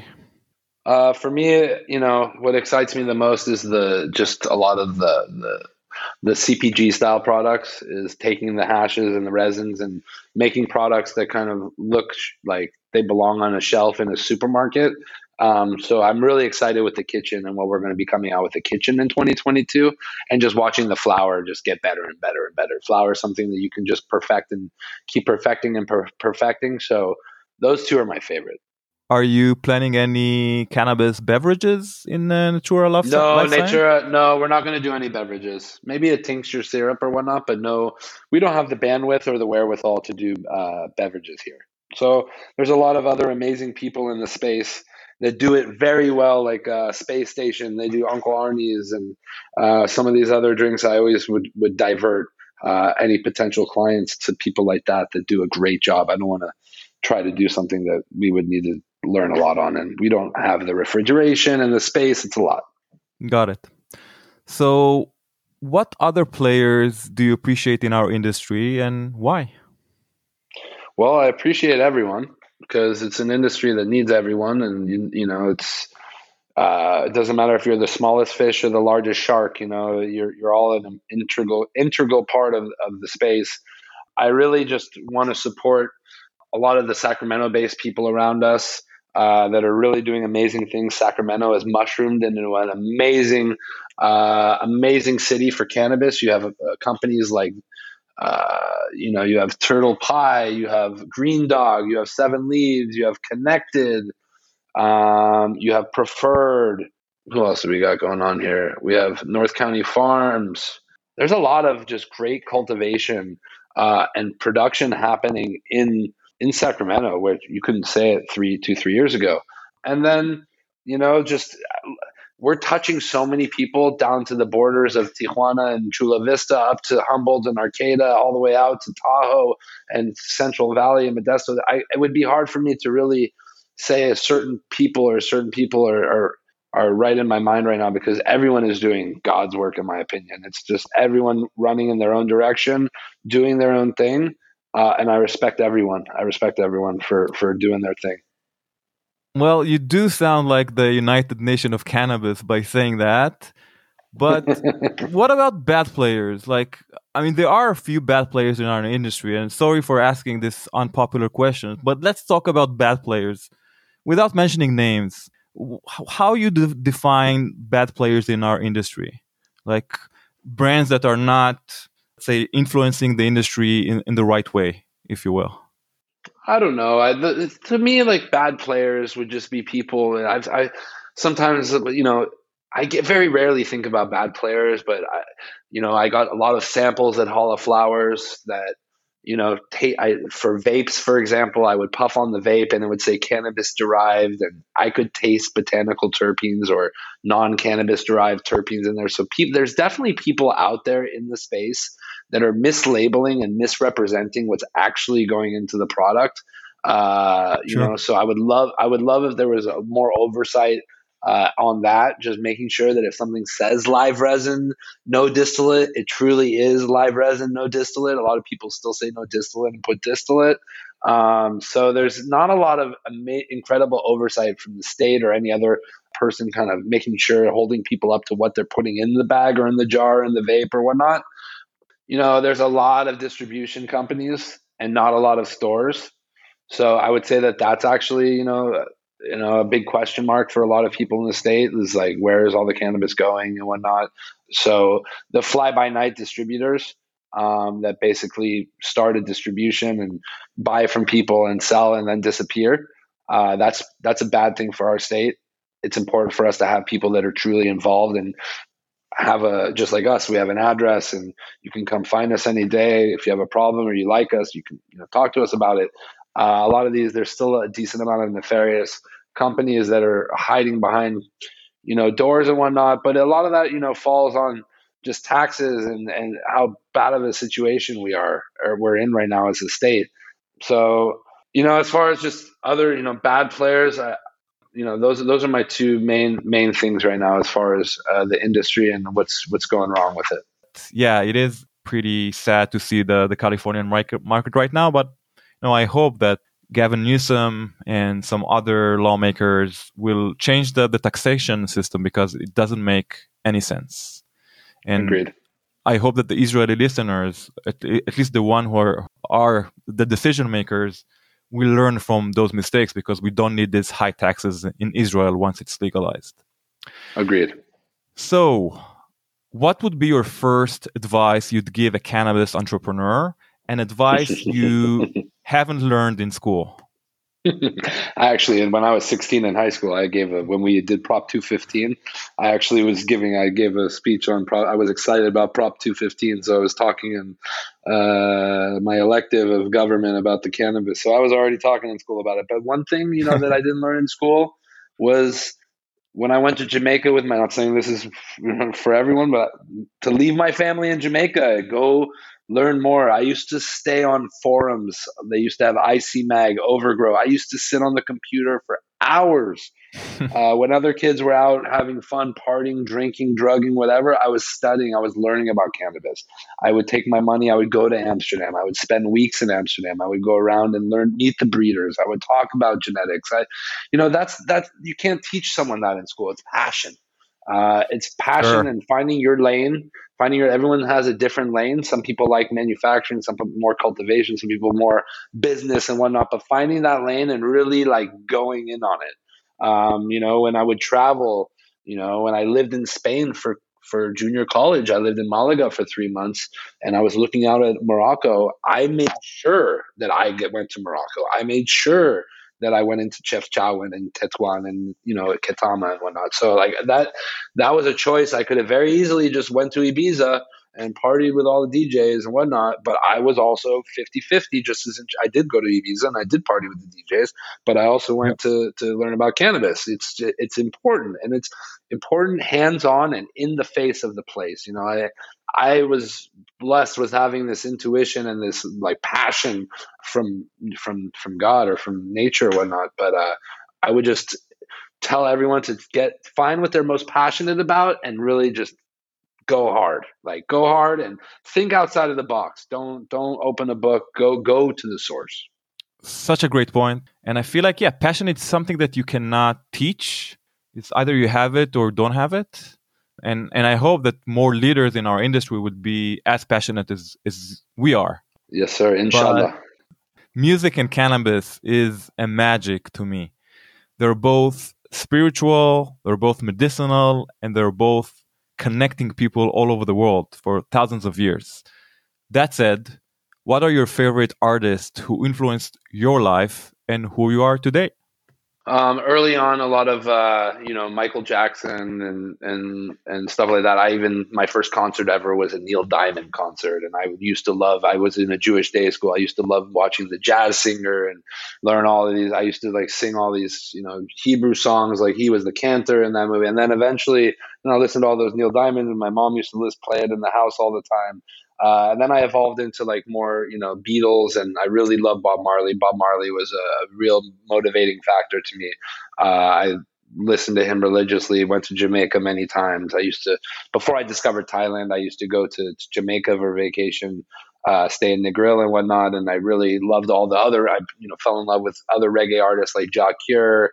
Uh, for me, you know, what excites me the most is the just a lot of the the the C P G style products, is taking the hashes and the resins and making products that kind of look sh- like they belong on a shelf in a supermarket. Um, so I'm really excited with the kitchen and what we're going to be coming out with the kitchen in twenty twenty-two, and just watching the flower just get better and better and better. Flower is something that you can just perfect and keep perfecting and per- perfecting. So those two are my favorite. Are you planning any cannabis beverages in uh, Natura Life No, Life Science? Natura, no, we're not going to do any beverages. Maybe a tincture syrup or whatnot, but no, we don't have the bandwidth or the wherewithal to do uh, beverages here. So there's a lot of other amazing people in the space that do it very well, like uh, Space Station. They do Uncle Arnie's and uh, some of these other drinks. I always would, would divert uh, any potential clients to people like that that do a great job. I don't want to try to do something that we would need to learn a lot on, and we don't have the refrigeration and the space. It's a lot. Got it. So what other players do you appreciate in our industry, and why? Well, I appreciate everyone because it's an industry that needs everyone, and you, you know, it's Uh, it doesn't matter if you're the smallest fish or the largest shark. You know, you're you're all an integral integral part of of the space. I really just want to support a lot of the Sacramento-based people around us uh, that are really doing amazing things. Sacramento has mushroomed into an amazing, uh, amazing city for cannabis. You have uh, companies like, uh, you know, you have Turtle Pie, you have Green Dog, you have Seven Leaves, you have Connected, um, you have Preferred. Who else do we got going on here? We have North County Farms. There's a lot of just great cultivation uh, and production happening in in Sacramento, where you couldn't say it three, two, three years ago. And then, you know, just we're touching so many people down to the borders of Tijuana and Chula Vista, up to Humboldt and Arcata, all the way out to Tahoe and Central Valley and Modesto. I, it would be hard for me to really say a certain people or certain people are, are are right in my mind right now, because everyone is doing God's work, in my opinion. It's just everyone running in their own direction, doing their own thing. Uh, and I respect everyone. I respect everyone for, for doing their thing. Well, you do sound like the United Nation of cannabis by saying that. But what about bad players? Like, I mean, there are a few bad players in our industry, and sorry for asking this unpopular question, but let's talk about bad players without mentioning names. How you de- define bad players in our industry? Like brands that are not, say, influencing the industry in, in the right way, if you will. I don't know. I, the, to me, like bad players would just be people. I've, I sometimes, you know, I get very rarely think about bad players, but I, you know, I got a lot of samples at Hall of Flowers that, you know, ta- I, for vapes, for example, I would puff on the vape and it would say cannabis derived, and I could taste botanical terpenes or non-cannabis derived terpenes in there. So people, there's definitely people out there in the space that are mislabeling and misrepresenting what's actually going into the product. Uh, you Sure. know, so I would love, I would love if there was a more oversight Uh, on that, just making sure that if something says live resin, no distillate, it truly is live resin, no distillate. A lot of people still say no distillate and put distillate. Um, so there's not a lot of ama- incredible oversight from the state or any other person kind of making sure, holding people up to what they're putting in the bag or in the jar or in the vape or whatnot. You know, there's a lot of distribution companies and not a lot of stores. So I would say that that's actually, you know, you know, a big question mark for a lot of people in the state is like, where is all the cannabis going and whatnot? So the fly-by-night distributors um, that basically start a distribution and buy from people and sell and then disappear, uh, that's that's a bad thing for our state. It's important for us to have people that are truly involved and have a, just like us, we have an address and you can come find us any day. If you have a problem or you like us, you can, you know, talk to us about it. Uh, a lot of these, there's still a decent amount of nefarious companies that are hiding behind, you know, doors and whatnot. But a lot of that, you know, falls on just taxes and, and how bad of a situation we are, or we're in right now as a state. So, you know, as far as just other, you know, bad players, I, you know, those those are my two main main things right now as far as uh, the industry and what's what's going wrong with it. Yeah, it is pretty sad to see the the Californian market market right now, but you know, I hope that Gavin Newsom and some other lawmakers will change the, the taxation system, because it doesn't make any sense. And Agreed. I hope that the Israeli listeners, at, at least the one who are, are the decision makers, will learn from those mistakes, because we don't need these high taxes in Israel once it's legalized. Agreed. So, what would be your first advice you'd give a cannabis entrepreneur, and advice you haven't learned in school? Actually, and when I was sixteen in high school, I gave a, when we did Prop two fifteen, I actually was giving, I gave a speech on, Prop, I was excited about Prop two fifteen. So I was talking in uh, my elective of government about the cannabis. So I was already talking in school about it. But one thing, you know, that I didn't learn in school was when I went to Jamaica with my, I'm not saying this is for everyone, but to leave my family in Jamaica, go learn more. I used to stay on forums. They used to have I C Mag, Overgrow. I used to sit on the computer for hours. uh, when other kids were out having fun, partying, drinking, drugging, whatever, I was studying, I was learning about cannabis. I would take my money, I would go to Amsterdam, I would spend weeks in Amsterdam, I would go around and learn, meet the breeders, I would talk about genetics. I, you know, that's, that's, you can't teach someone that in school. It's passion. Uh, it's passion Sure. and finding your lane, finding your, everyone has a different lane. Some people like manufacturing, some people more cultivation, some people more business and whatnot, but finding that lane and really like going in on it. Um, you know, when I would travel, you know, when I lived in Spain for, for junior college, I lived in Malaga for three months and I was looking out at Morocco. I made sure that I get, went to Morocco. I made sure that I went into Chefchaouen and Tetuan and, you know, Ketama and whatnot. So like that, that was a choice. I could have very easily just went to Ibiza and partied with all the D Js and whatnot. But I was also fifty-fifty, just as in, I did go to Ibiza and I did party with the D Js, but I also went yep. to, to learn about cannabis. It's, it's important, and it's important hands-on and in the face of the place. You know, I, I was blessed with having this intuition and this like passion from, from, from God or from nature or whatnot. But, uh, I would just tell everyone to get, find what they're most passionate about and really just go hard, like go hard and think outside of the box. Don't, don't open a book, go, go to the source. Such a great point. And I feel like, yeah, passion is something that you cannot teach. It's either you have it or don't have it. And and I hope that more leaders in our industry would be as passionate as, as we are. Yes, sir. Inshallah. But music and cannabis is a magic to me. They're both spiritual, they're both medicinal, and they're both connecting people all over the world for thousands of years. That said, what are your favorite artists who influenced your life and who you are today? Um, early on, a lot of, uh, you know, Michael Jackson and, and, and stuff like that. I even, my first concert ever was a Neil Diamond concert. And I used to love, I was in a Jewish day school. I used to love watching The Jazz Singer and learn all of these. I used to like sing all these, you know, Hebrew songs. Like he was the cantor in that movie. And then eventually, you know, I listened to all those Neil Diamond, and my mom used to list, play it in the house all the time. Uh, and then I evolved into like more, you know, Beatles, and I really love Bob Marley. Bob Marley was a real motivating factor to me. Uh, I listened to him religiously, went to Jamaica many times. I used to, before I discovered Thailand, I used to go to, to Jamaica for vacation, uh, stay in Negril and whatnot. And I really loved all the other, I, you know, fell in love with other reggae artists like Ja Cure,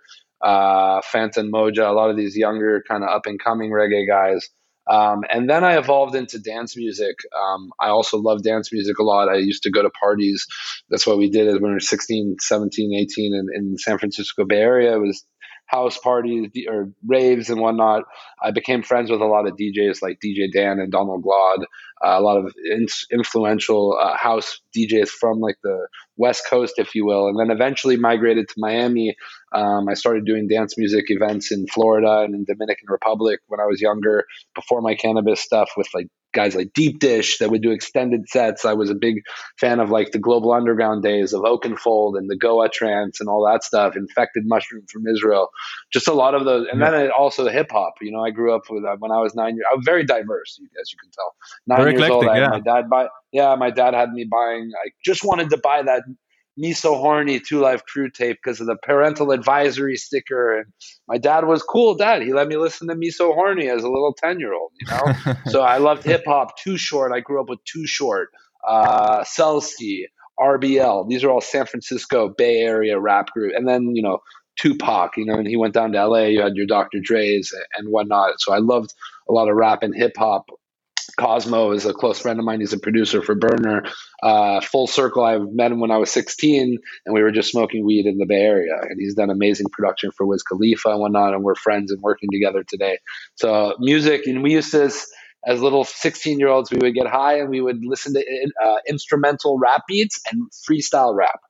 uh, Fantan Moja, a lot of these younger kind of up and coming reggae guys. Um, and then I evolved into dance music. Um, I also love dance music a lot. I used to go to parties. That's what we did when we were sixteen, seventeen, eighteen in, in the San Francisco Bay Area. It was house parties or raves and whatnot. I became friends with a lot of D Js like D J Dan and Donald Glaude, uh, a lot of in- influential uh, house D Js from like the West Coast, if you will. And then eventually migrated to Miami. Um, I started doing dance music events in Florida and in Dominican Republic when I was younger, before my cannabis stuff, with like guys like Deep Dish that would do extended sets. I was a big fan of like the Global Underground days of Oakenfold and the Goa Trance and all that stuff, Infected Mushroom from Israel, just a lot of those. And then it also hip hop, you know, I grew up with, uh, when I was nine years, I was very diverse, as you can tell. Nine very years eclectic, old, I had yeah. my dad buy, yeah, my dad had me buying, I just wanted to buy that Me So Horny Two Live Crew tape because of the parental advisory sticker. And my dad was cool dad. He let me listen to Me So Horny as a little ten year old, you know? So I loved hip hop. Too Short. I grew up with Too Short, uh, Celsky, R B L. These are all San Francisco Bay Area rap group. And then, you know, Tupac, you know, and he went down to L A, you had your Doctor Dre's and whatnot. So I loved a lot of rap and hip hop. Cosmo is a close friend of mine. He's a producer for Burner. Uh, full circle, I met him when I was sixteen, and we were just smoking weed in the Bay Area. And he's done amazing production for Wiz Khalifa and whatnot, and we're friends and working together today. So music, and we used to, as, as little sixteen-year-olds, we would get high and we would listen to uh, instrumental rap beats and freestyle rap.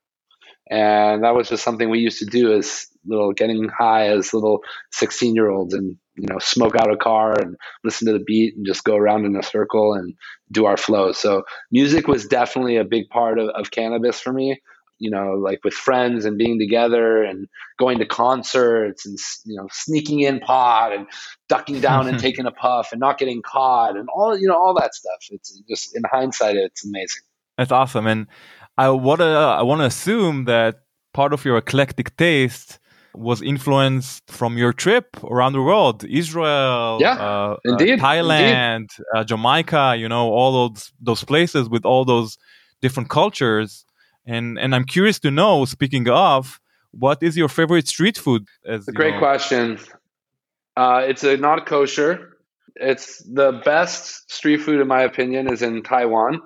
And that was just something we used to do as little, getting high as little sixteen-year-olds, and you know, smoke out a car and listen to the beat and just go around in a circle and do our flows. So music was definitely a big part of, of cannabis for me, you know, like with friends and being together and going to concerts and, you know, sneaking in pot and ducking down and taking a puff and not getting caught and all, you know, all that stuff. It's just, in hindsight, it's amazing. That's awesome. And I want to, I want to assume that part of your eclectic taste was influenced from your trip around the world, Israel, yeah, uh, indeed, uh, Thailand, indeed. Uh, Jamaica, you know, all those those places with all those different cultures. And and I'm curious to know, speaking of, what is your favorite street food? As, It's a great know? question. Uh, it's a not kosher. It's the best street food, in my opinion, is in Taiwan.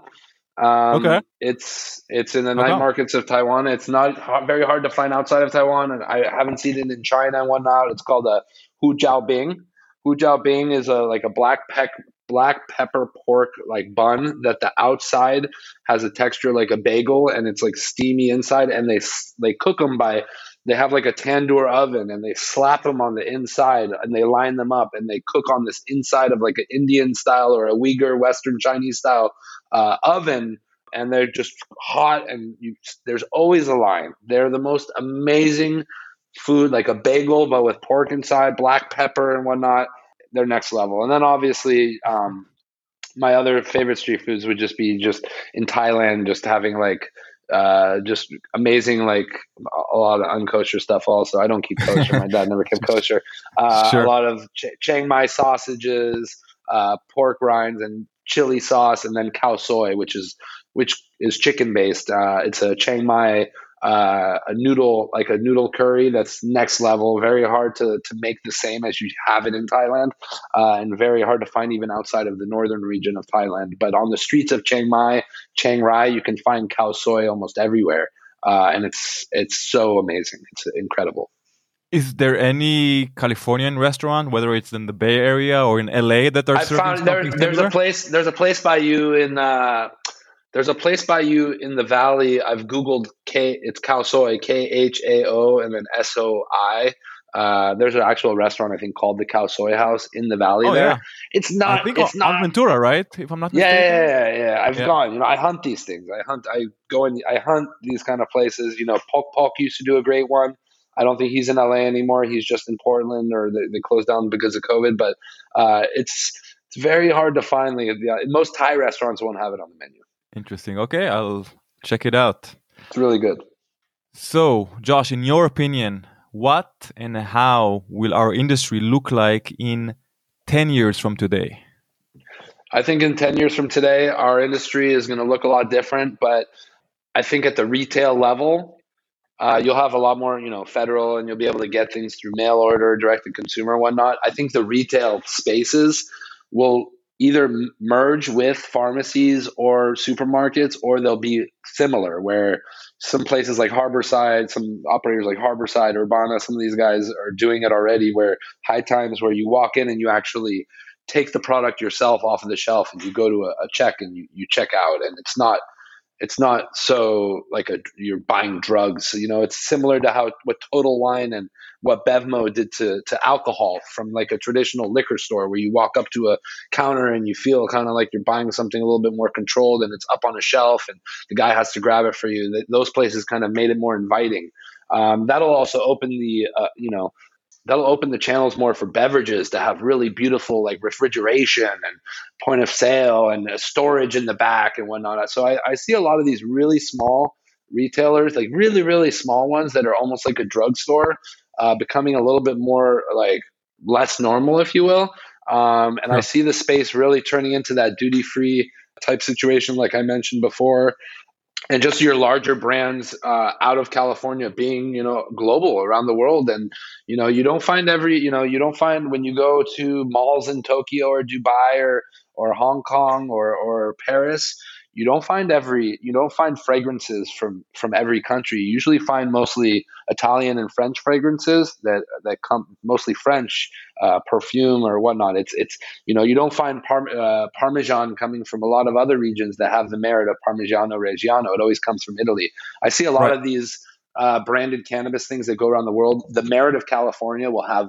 Um, okay. It's it's in the How night come? markets of Taiwan. It's not hard, very hard to find outside of Taiwan, and I haven't seen it in China and whatnot. It's called a Hu Jiao Bing. Hu Jiao Bing is a like a black peck black pepper pork like bun that the outside has a texture like a bagel, and it's like steamy inside. And they they cook them by they have like a tandoor oven, and they slap them on the inside, and they line them up, and they cook on this inside of like an Indian style or a Uyghur Western Chinese style uh, oven, and they're just hot, and you, there's always a line. They're the most amazing food, like a bagel but with pork inside, black pepper and whatnot. They're next level. And then obviously um, my other favorite street foods would just be just in Thailand, just having like uh, just amazing, like a lot of unkosher stuff also. I don't keep kosher. My dad never kept kosher. Uh, sure. A lot of Ch- Chiang Mai sausages, uh, pork rinds, and chili sauce, and then khao soi, which is which is chicken based. Uh, it's a Chiang Mai uh, a noodle, like a noodle curry that's next level. Very hard to to make the same as you have it in Thailand, uh, and very hard to find even outside of the northern region of Thailand. But on the streets of Chiang Mai, Chiang Rai, you can find khao soi almost everywhere, uh, and it's it's so amazing. It's incredible. Is there any Californian restaurant, whether it's in the Bay Area or in L A, that are I serving found there, something there's similar? a place. There's a place by you in. Uh, there's a place by you in the valley. I've googled K. It's khao soi, K H A O, and then S O I. Uh, there's an actual restaurant I think called the Khao Soi House in the valley. Oh, there, yeah. it's not. I think it's on not Ventura, right? If I'm not yeah, mistaken. yeah, yeah, yeah. I've Yeah. gone. You know, I hunt these things. I hunt. I go in. I hunt these kind of places. You know, Pok Pok used to do a great one. I don't think he's in L A anymore. He's just in Portland, or they, they closed down because of COVID. But uh, it's it's very hard to find. Like, the, most Thai restaurants won't have it on the menu. Interesting. Okay, I'll check it out. It's really good. So, Josh, in your opinion, what and how will our industry look like in ten years from today? I think in ten years from today, our industry is going to look a lot different. But I think at the retail level, Uh, you'll have a lot more, you know, federal, and you'll be able to get things through mail order, direct to consumer, whatnot. I think the retail spaces will either merge with pharmacies or supermarkets, or they'll be similar, where some places like Harborside, some operators like Harborside, Urbana, some of these guys are doing it already, where High Times, where you walk in and you actually take the product yourself off of the shelf, and you go to a, a check and you, you check out, and it's not It's not so like a you're buying drugs. You know, it's similar to how what Total Wine and what Bevmo did to to alcohol from like a traditional liquor store, where you walk up to a counter and you feel kind of like you're buying something a little bit more controlled, and it's up on a shelf and the guy has to grab it for you. Those places kind of made it more inviting. Um, that'll also open the uh, you know. That'll open the channels more for beverages to have really beautiful like refrigeration and point of sale and storage in the back and whatnot. So I, I see a lot of these really small retailers, like really, really small ones that are almost like a drugstore, uh, becoming a little bit more like less normal, if you will. Um, and Sure. I see the space really turning into that duty-free type situation, like I mentioned before. And just your larger brands uh, out of California being, you know, global around the world. And, you know, you don't find every, you know, you don't find when you go to malls in Tokyo or Dubai or, or Hong Kong or, or Paris, you don't find every, you don't find fragrances from, from every country. You usually find mostly Italian and French fragrances that, that come mostly French uh, perfume or whatnot. It's, it's, you know, you don't find Parm- uh, Parmesan coming from a lot of other regions that have the merit of Parmigiano Reggiano. It always comes from Italy. I see a lot Right. of these uh, branded cannabis things that go around the world. The merit of California will have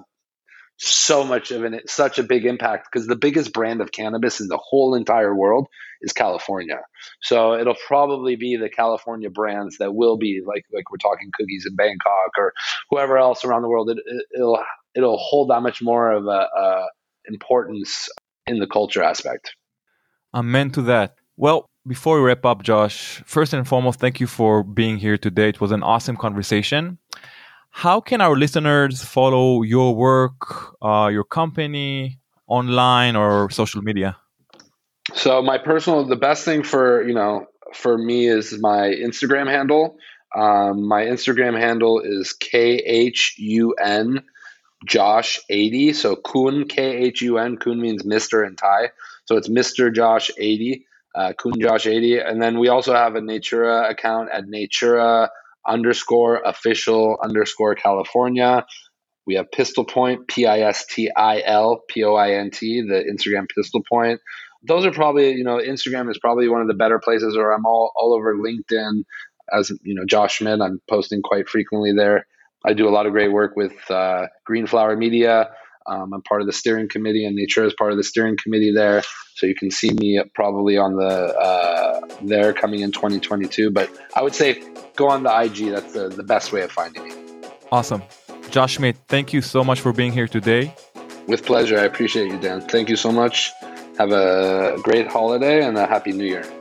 so much of an such a big impact, because the biggest brand of cannabis in the whole entire world is California. So it'll probably be the California brands that will be like like we're talking Cookies in Bangkok or whoever else around the world. It, it, it'll it'll hold that much more of a, a importance in the culture aspect. Amen to that. Well, before we wrap up, Josh, first and foremost, thank you for being here today. It was an awesome conversation. how can our listeners follow your work, uh, your company, online or social media? So my personal, the best thing for, you know, for me is my Instagram handle. Um, my Instagram handle is K H U N Josh eighty. So Kun, K H U N, Kun means Mister in Thai. So it's Mister Josh eighty, uh, Kun Josh eighty. And then we also have a Natura account at Natura underscore official underscore California. We have Pistol Point, P I S T I L P O I N T, the Instagram Pistol Point. Those are probably, you know, Instagram is probably one of the better places, or I'm all, all over LinkedIn as, you know, Josh Schmidt. I'm posting quite frequently there. I do a lot of great work with uh, Green Flower Media. Um, I'm part of the steering committee, and Nature is part of the steering committee there. So you can see me probably on the uh, there coming in twenty twenty-two. But I would say go on the I G. That's the, the best way of finding me. Awesome. Josh Schmidt, thank you so much for being here today. With pleasure. I appreciate you, Dan. Thank you so much. Have a great holiday and a happy new year.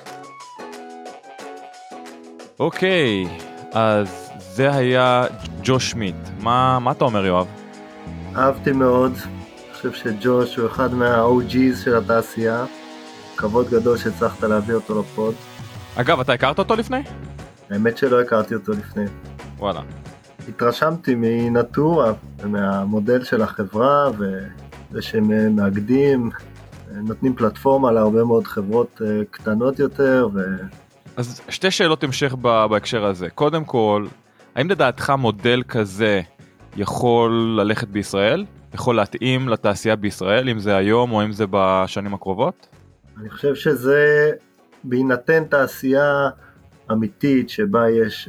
אוקיי, אז זה היה ג'וש שמיט. מה, מה אתה אומר, יואב? אהבתי מאוד. אני חושב שג'וש הוא אחד מה-או ג'יז של התעשייה. כבוד גדול שהצלחת להביא אותו לפוד. אגב, אתה הכרת אותו לפני? האמת שלא הכרתי אותו לפני. וואלה. התרשמתי מנטורה ומהמודל של החברה וזה שהם מאגדים, נותנים פלטפורמה להרבה מאוד חברות קטנות יותר. ו... אז שתי שאלות המשך בהקשר הזה. קודם כל, האם לדעתך מודל כזה יכול ללכת בישראל? יכול להתאים לתעשייה בישראל, אם זה היום או אם זה בשנים הקרובות? אני חושב שזה בהינתן תעשייה אמיתית שבה יש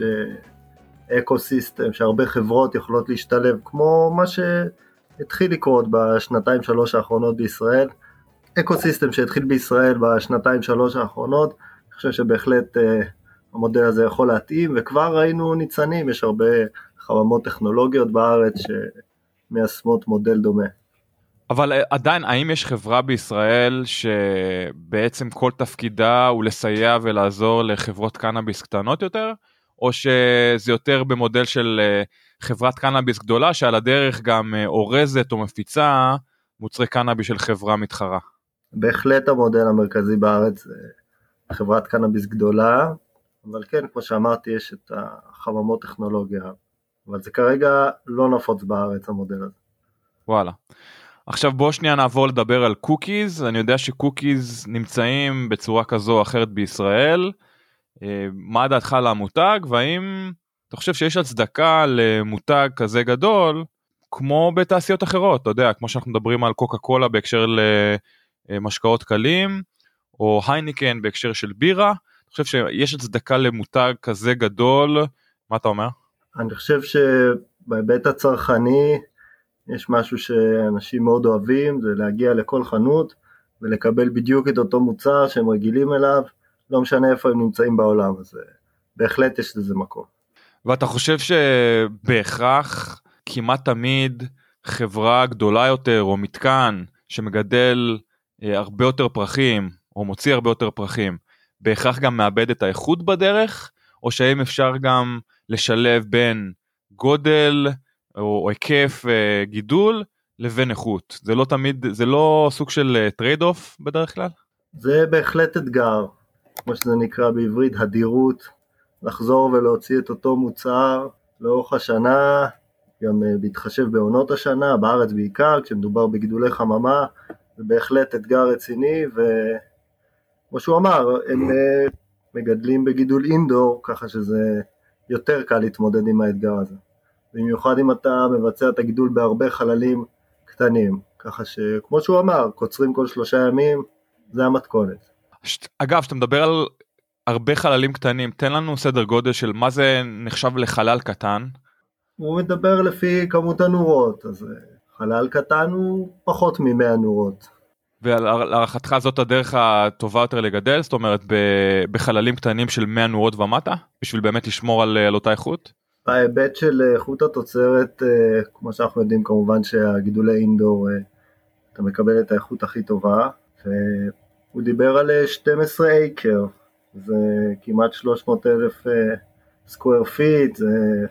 אקוסיסטם שהרבה חברות יכולות להשתלב, כמו מה שהתחיל לקרות בשנתיים שלוש האחרונות בישראל, אקוסיסטם שהתחיל בישראל בשנתיים שלוש האחרונות, אני חושב שבהחלט המודל הזה יכול להתאים, וכבר ראינו ניצנים, יש הרבה חממות טכנולוגיות בארץ שמיישמות מודל דומה. אבל עדיין, האם יש חברה בישראל שבעצם כל תפקידה הוא לסייע ולעזור לחברות קנאביס קטנות יותר? או שזה יותר במודל של חברת קנאביס גדולה, שעל הדרך גם אורזת או מפיצה מוצרי קנאביס של חברה מתחרה? בהחלט המודל המרכזי בארץ זה חברת קנאביס גדולה, אבל כן, כמו שאמרתי, יש את החממות טכנולוגיה, אבל זה כרגע לא נפוץ בארץ המודל הזה. וואלה. עכשיו בוא שנייה נעבור לדבר על קוקיז. אני יודע שקוקיז נמצאים בצורה כזו או אחרת בישראל. מה דעתך על המותג, והאם אתה חושב שיש הצדקה למותג כזה גדול כמו בתעשיות אחרות? אתה יודע, כמו שאנחנו מדברים על קוקה קולה בהקשר למשקאות קלים, או הייניקן בהקשר של בירה. אתה חושב שיש הצדקה למותג כזה גדול? מה אתה אומר? אני חושב שבהיבט הצרכני יש משהו שאנשים מאוד אוהבים, זה להגיע לכל חנות ולקבל בדיוק את אותו מוצר שהם רגילים אליו, לא משנה איפה הם נמצאים בעולם, אז בהחלט יש לזה מקום. ואתה חושב שבהכרח כמעט תמיד חברה גדולה יותר או מתקן שמגדל הרבה יותר פרחים או מוציא הרבה יותר פרחים, בהכרח גם מאבד את האיכות בדרך, או שהאם אפשר גם לשלב בין גודל או היקף גידול לבין איכות? זה לא תמיד, זה לא סוג של טרייד אוף בדרך כלל? זה בהחלט אתגר, כמו שזה נקרא בעברית, הדירות, לחזור ולהוציא את אותו מוצר לאורך השנה, גם בהתחשב בעונות השנה, בארץ בעיקר, כשמדובר בגידולי חממה, זה בהחלט אתגר רציני, וכמו שהוא אמר, הם מגדלים בגידול אינדור, ככה שזה יותר קל להתמודד עם האתגר הזה. במיוחד אם אתה מבצע את הגידול בהרבה חללים קטנים, ככה שכמו שהוא אמר, קוצרים כל שלושה ימים, זה המתכונת. אגב, שאתה מדבר על הרבה חללים קטנים, תן לנו סדר גודל של מה זה נחשב לחלל קטן. הוא מדבר לפי כמות הנורות, אז חלל קטן הוא פחות מ-מאה נורות. ולהערכתך זאת הדרך הטובה יותר לגדל? זאת אומרת, בחללים קטנים של מאה נורות ומטה, בשביל באמת לשמור על, על אותה איכות? בהיבט של איכות התוצרת, כמו שאנחנו יודעים, כמובן שהגידולי אינדור, אתה מקבל את האיכות הכי טובה, והוא דיבר על שנים עשר אייקר, זה כמעט שלוש מאות אלף סקוואר פיט, זה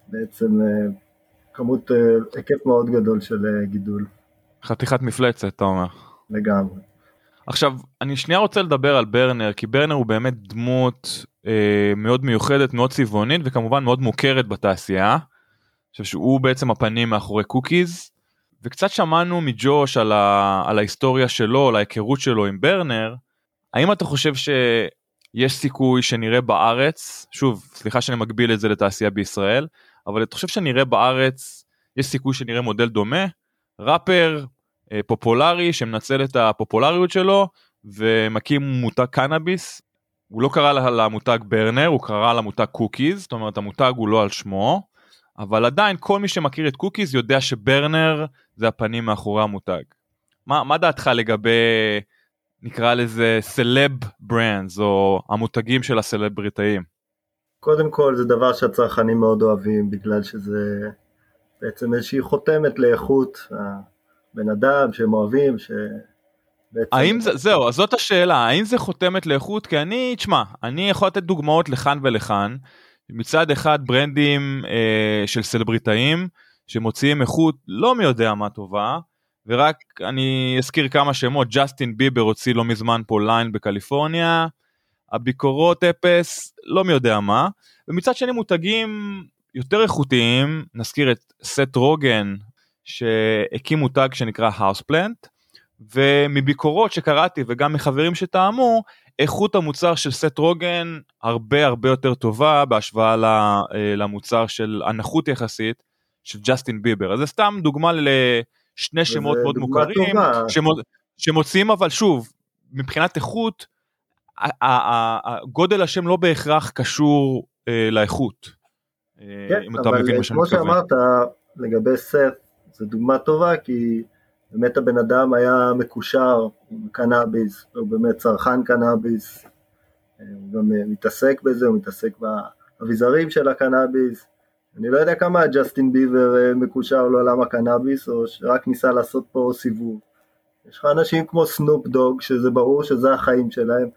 בעצם כמות, היקף מאוד גדול של גידול. חתיכת מפלצת, אתה אומר. לגמרי. עכשיו, אני שנייה רוצה לדבר על ברנר, כי ברנר הוא באמת דמות אה, מאוד מיוחדת, מאוד צבעונית, וכמובן מאוד מוכרת בתעשייה. אני חושב שהוא בעצם הפנים מאחורי קוקיז, וקצת שמענו מג'וש על, ה, על ההיסטוריה שלו, על ההיכרות שלו עם ברנר. האם אתה חושב שיש סיכוי שנראה בארץ, שוב, סליחה שאני מגביל את זה לתעשייה בישראל, אבל אתה חושב שנראה בארץ, יש סיכוי שנראה מודל דומה, ראפר, פופולרי שמנצל את הפופולריות שלו ומקים מותג קנאביס. הוא לא קרא למותג ברנר, הוא קרא למותג קוקיז, זאת אומרת המותג הוא לא על שמו, אבל עדיין כל מי שמכיר את קוקיז יודע שברנר זה הפנים מאחורי המותג. מה, מה דעתך לגבי, נקרא לזה סלב ברנדס או המותגים של הסלבריטאים? קודם כל זה דבר שהצרכנים מאוד אוהבים, בגלל שזה בעצם איזושהי חותמת לאיכות בן אדם שהם אוהבים, שבעצם... האם זה, זהו, אז זאת השאלה, האם זה חותמת לאיכות? כי אני, תשמע, אני יכול לתת דוגמאות לכאן ולכאן, מצד אחד ברנדים אה, של סלבריטאים, שמוציאים איכות לא מי יודע מה טובה, ורק אני אזכיר כמה שמות, ג'סטין ביבר הוציא לא מזמן פה ליין בקליפורניה, הביקורות אפס, לא מי יודע מה, ומצד שני מותגים יותר איכותיים, נזכיר את סט רוגן, שהקים מותג שנקרא Houseplant, ומביקורות שקראתי וגם מחברים שטעמו, איכות המוצר של סט רוגן הרבה הרבה יותר טובה בהשוואה למוצר של הנחות יחסית של ג'סטין ביבר. אז זה סתם דוגמה לשני שמות מאוד מוכרים, שמוצאים אבל שוב, מבחינת איכות, הגודל השם לא בהכרח קשור לאיכות. כן, אבל כמו שאמרת לגבי סט, זו דוגמה טובה, כי באמת הבן אדם היה מקושר עם קנאביס, הוא באמת צרכן קנאביס, הוא גם מתעסק בזה, הוא מתעסק באביזרים של הקנאביס. אני לא יודע כמה ג'סטין ביבר מקושר לעולם הקנאביס, או שרק ניסה לעשות פה סיבוב. יש לך אנשים כמו סנופ דוג, שזה ברור שזה החיים שלהם,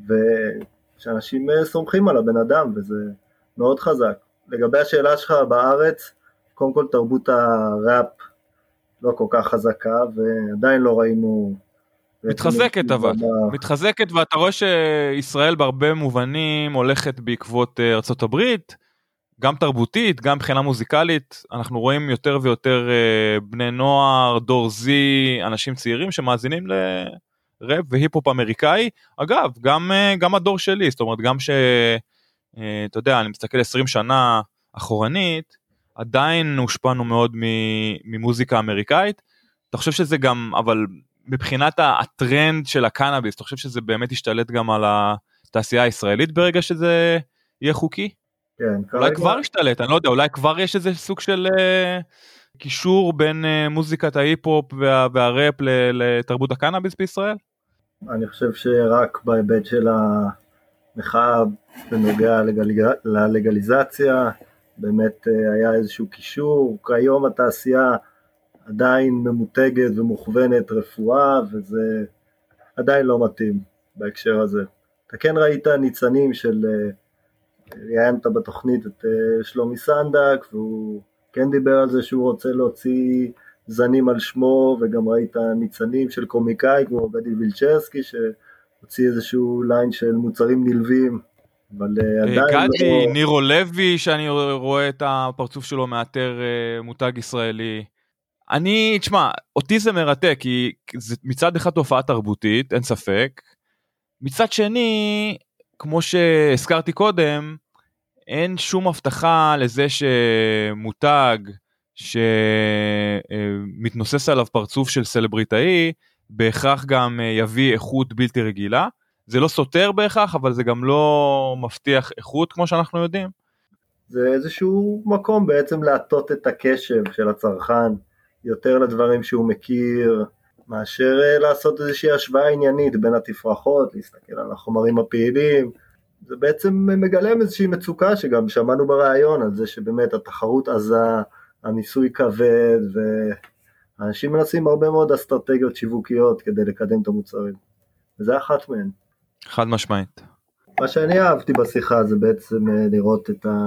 ושאנשים סומכים על הבן אדם, וזה מאוד חזק. לגבי השאלה שלך בארץ, קודם כל תרבות הראפ לא כל כך חזקה, ועדיין לא ראינו... מתחזקת אבל, מתחזקת, ואתה רואה שישראל בהרבה מובנים הולכת בעקבות ארצות הברית, גם תרבותית, גם מבחינה מוזיקלית, אנחנו רואים יותר ויותר בני נוער, דור זי, אנשים צעירים שמאזינים לראפ והיפ-הופ אמריקאי, אגב, גם, גם הדור שלי, זאת אומרת, גם ש... אתה יודע, אני מסתכל עשרים שנה אחורנית, עדיין הושפענו מאוד ממוזיקה אמריקאית, אתה חושב שזה גם, אבל מבחינת הטרנד של הקנאביס, אתה חושב שזה באמת ישתלט גם על התעשייה הישראלית ברגע שזה יהיה חוקי? כן. אולי כבר ישתלט, אני לא יודע, אולי כבר יש איזה סוג של קישור בין מוזיקת ההיפ-הופ והראפ לתרבות הקנאביס בישראל? אני חושב שרק בהיבט של המחאה בנוגע ללגליזציה, באמת היה איזשהו קישור, כיום התעשייה עדיין ממותגת ומוכוונת רפואה, וזה עדיין לא מתאים בהקשר הזה. אתה כן ראית ניצנים של, ראיינת בתוכנית את שלומי סנדק, והוא כן דיבר על זה שהוא רוצה להוציא זנים על שמו, וגם ראית ניצנים של קומיקאי כמו גדי וילצ'רסקי, שהוציא איזשהו ליין של מוצרים נלווים, אבל עדיין גדי, לא... נירו לוי, שאני רואה את הפרצוף שלו מאתר מותג ישראלי. אני, תשמע, אותי זה מרתק, כי זה מצד אחד תופעה תרבותית, אין ספק. מצד שני, כמו שהזכרתי קודם, אין שום הבטחה לזה שמותג שמתנוסס עליו פרצוף של סלבריטאי, בהכרח גם יביא איכות בלתי רגילה. זה לא סותר בהכרח, אבל זה גם לא מבטיח איכות, כמו שאנחנו יודעים. זה איזשהו מקום בעצם להטות את הקשב של הצרכן, יותר לדברים שהוא מכיר, מאשר לעשות איזושהי השוואה עניינית בין התפרחות, להסתכל על החומרים הפעילים. זה בעצם מגלם איזושהי מצוקה שגם שמענו ברעיון על זה שבאמת התחרות עזה, הניסוי כבד, ואנשים מנסים הרבה מאוד אסטרטגיות שיווקיות כדי לקדם את המוצרים. וזה אחת מהן. חד משמעית. מה שאני אהבתי בשיחה זה בעצם לראות את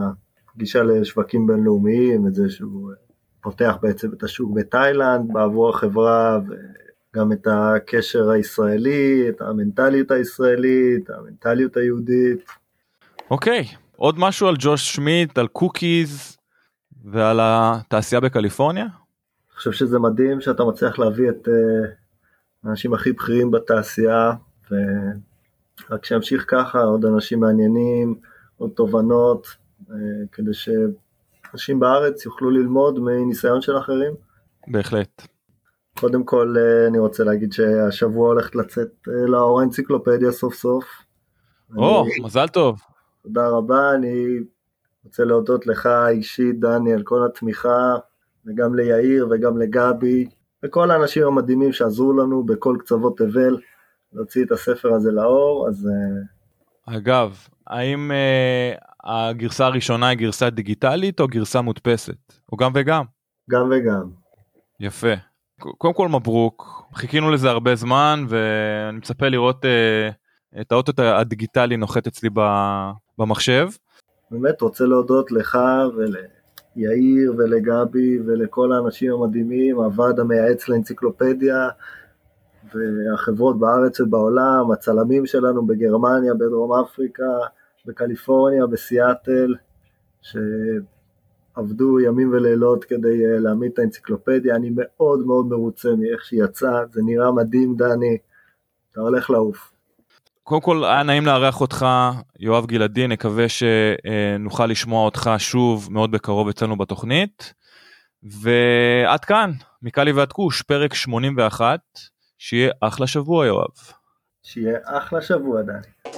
גישה לשווקים בינלאומיים, את זה שהוא פותח בעצם את השוק בתאילנד בעבור החברה, וגם את הקשר הישראלי, את המנטליות הישראלית, המנטליות היהודית. אוקיי, עוד משהו על ג'וש שמיט, על קוקיז ועל התעשייה בקליפורניה? אני חושב שזה מדהים שאתה מצליח להביא את האנשים הכי בכירים בתעשייה, ורק שימשיך ככה, עוד אנשים מעניינים, עוד תובנות, כדי שאנשים בארץ יוכלו ללמוד מניסיון של אחרים. בהחלט. קודם כל אני רוצה להגיד שהשבוע הולכת לצאת לאור האנציקלופדיה סוף סוף. או, אני... מזל טוב. תודה רבה, אני רוצה להודות לך אישית דני על כל התמיכה, וגם ליאיר וגם לגבי, וכל האנשים המדהימים שעזרו לנו בכל קצוות תבל, להוציא את הספר הזה לאור. אז אגב, האם uh, הגרסה הראשונה היא גרסה דיגיטלית או גרסה מודפסת? או גם וגם? גם וגם. יפה. קודם כל מברוק, חיכינו לזה הרבה זמן, ואני מצפה לראות uh, את האוטו הדיגיטלי נוחת אצלי במחשב. באמת רוצה להודות לך וליאיר ולגבי ולכל האנשים המדהימים, הוועד המייעץ לאנציקלופדיה, והחברות בארץ ובעולם, הצלמים שלנו בגרמניה, בדרום אפריקה, בקליפורניה, בסיאטל, שעבדו ימים ולילות כדי להעמיד את האנציקלופדיה. אני מאוד מאוד מרוצה מאיך שהיא יצאה, זה נראה מדהים דני, אתה הולך לעוף. קודם כל היה נעים לארח אותך, יואב גלעדי, נקווה שנוכל לשמוע אותך שוב מאוד בקרוב אצלנו בתוכנית, ועד כאן, מקלי ועד כוש, פרק שמונים ואחת, שיהיה אחלה שבוע יואב. שיהיה אחלה שבוע דני.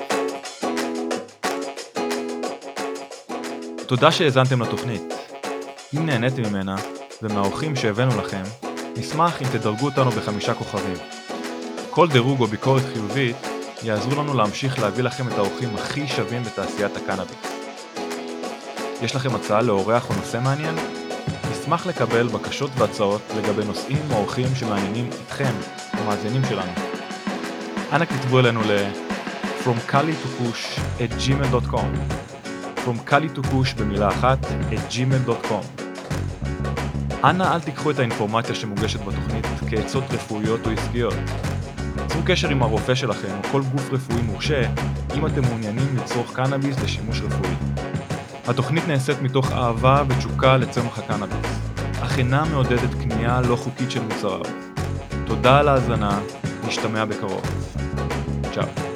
תודה שהאזנתם לתוכנית. אם נהניתם ממנה ומהאורחים שהבאנו לכם, נשמח אם תדרגו אותנו בחמישה כוכבים. כל דירוג או ביקורת חיובית יעזרו לנו להמשיך להביא לכם את האורחים הכי שווים בתעשיית הקנאביס. יש לכם הצעה לאורח או נושא מעניין? נשמח לקבל בקשות והצעות לגבי נושאים או אורחים שמעניינים אתכם, המאזינים שלנו. אנא כתבו אלינו ל from kali to kush at gmail dot com from kali to kush במילה אחת at gmail dot com. אנא אל תיקחו את האינפורמציה שמוגשת בתוכנית כעצות רפואיות או עסקיות. צרו קשר עם הרופא שלכם או כל גוף רפואי מורשה אם אתם מעוניינים לצרוך קנאביס לשימוש רפואי. התוכנית נעשית מתוך אהבה ותשוקה לצמח הקנאביס, אך אינה מעודדת קנייה לא חוקית של מוצריו. תודה על ההאזנה, נשתמע בקרוב. צ'או.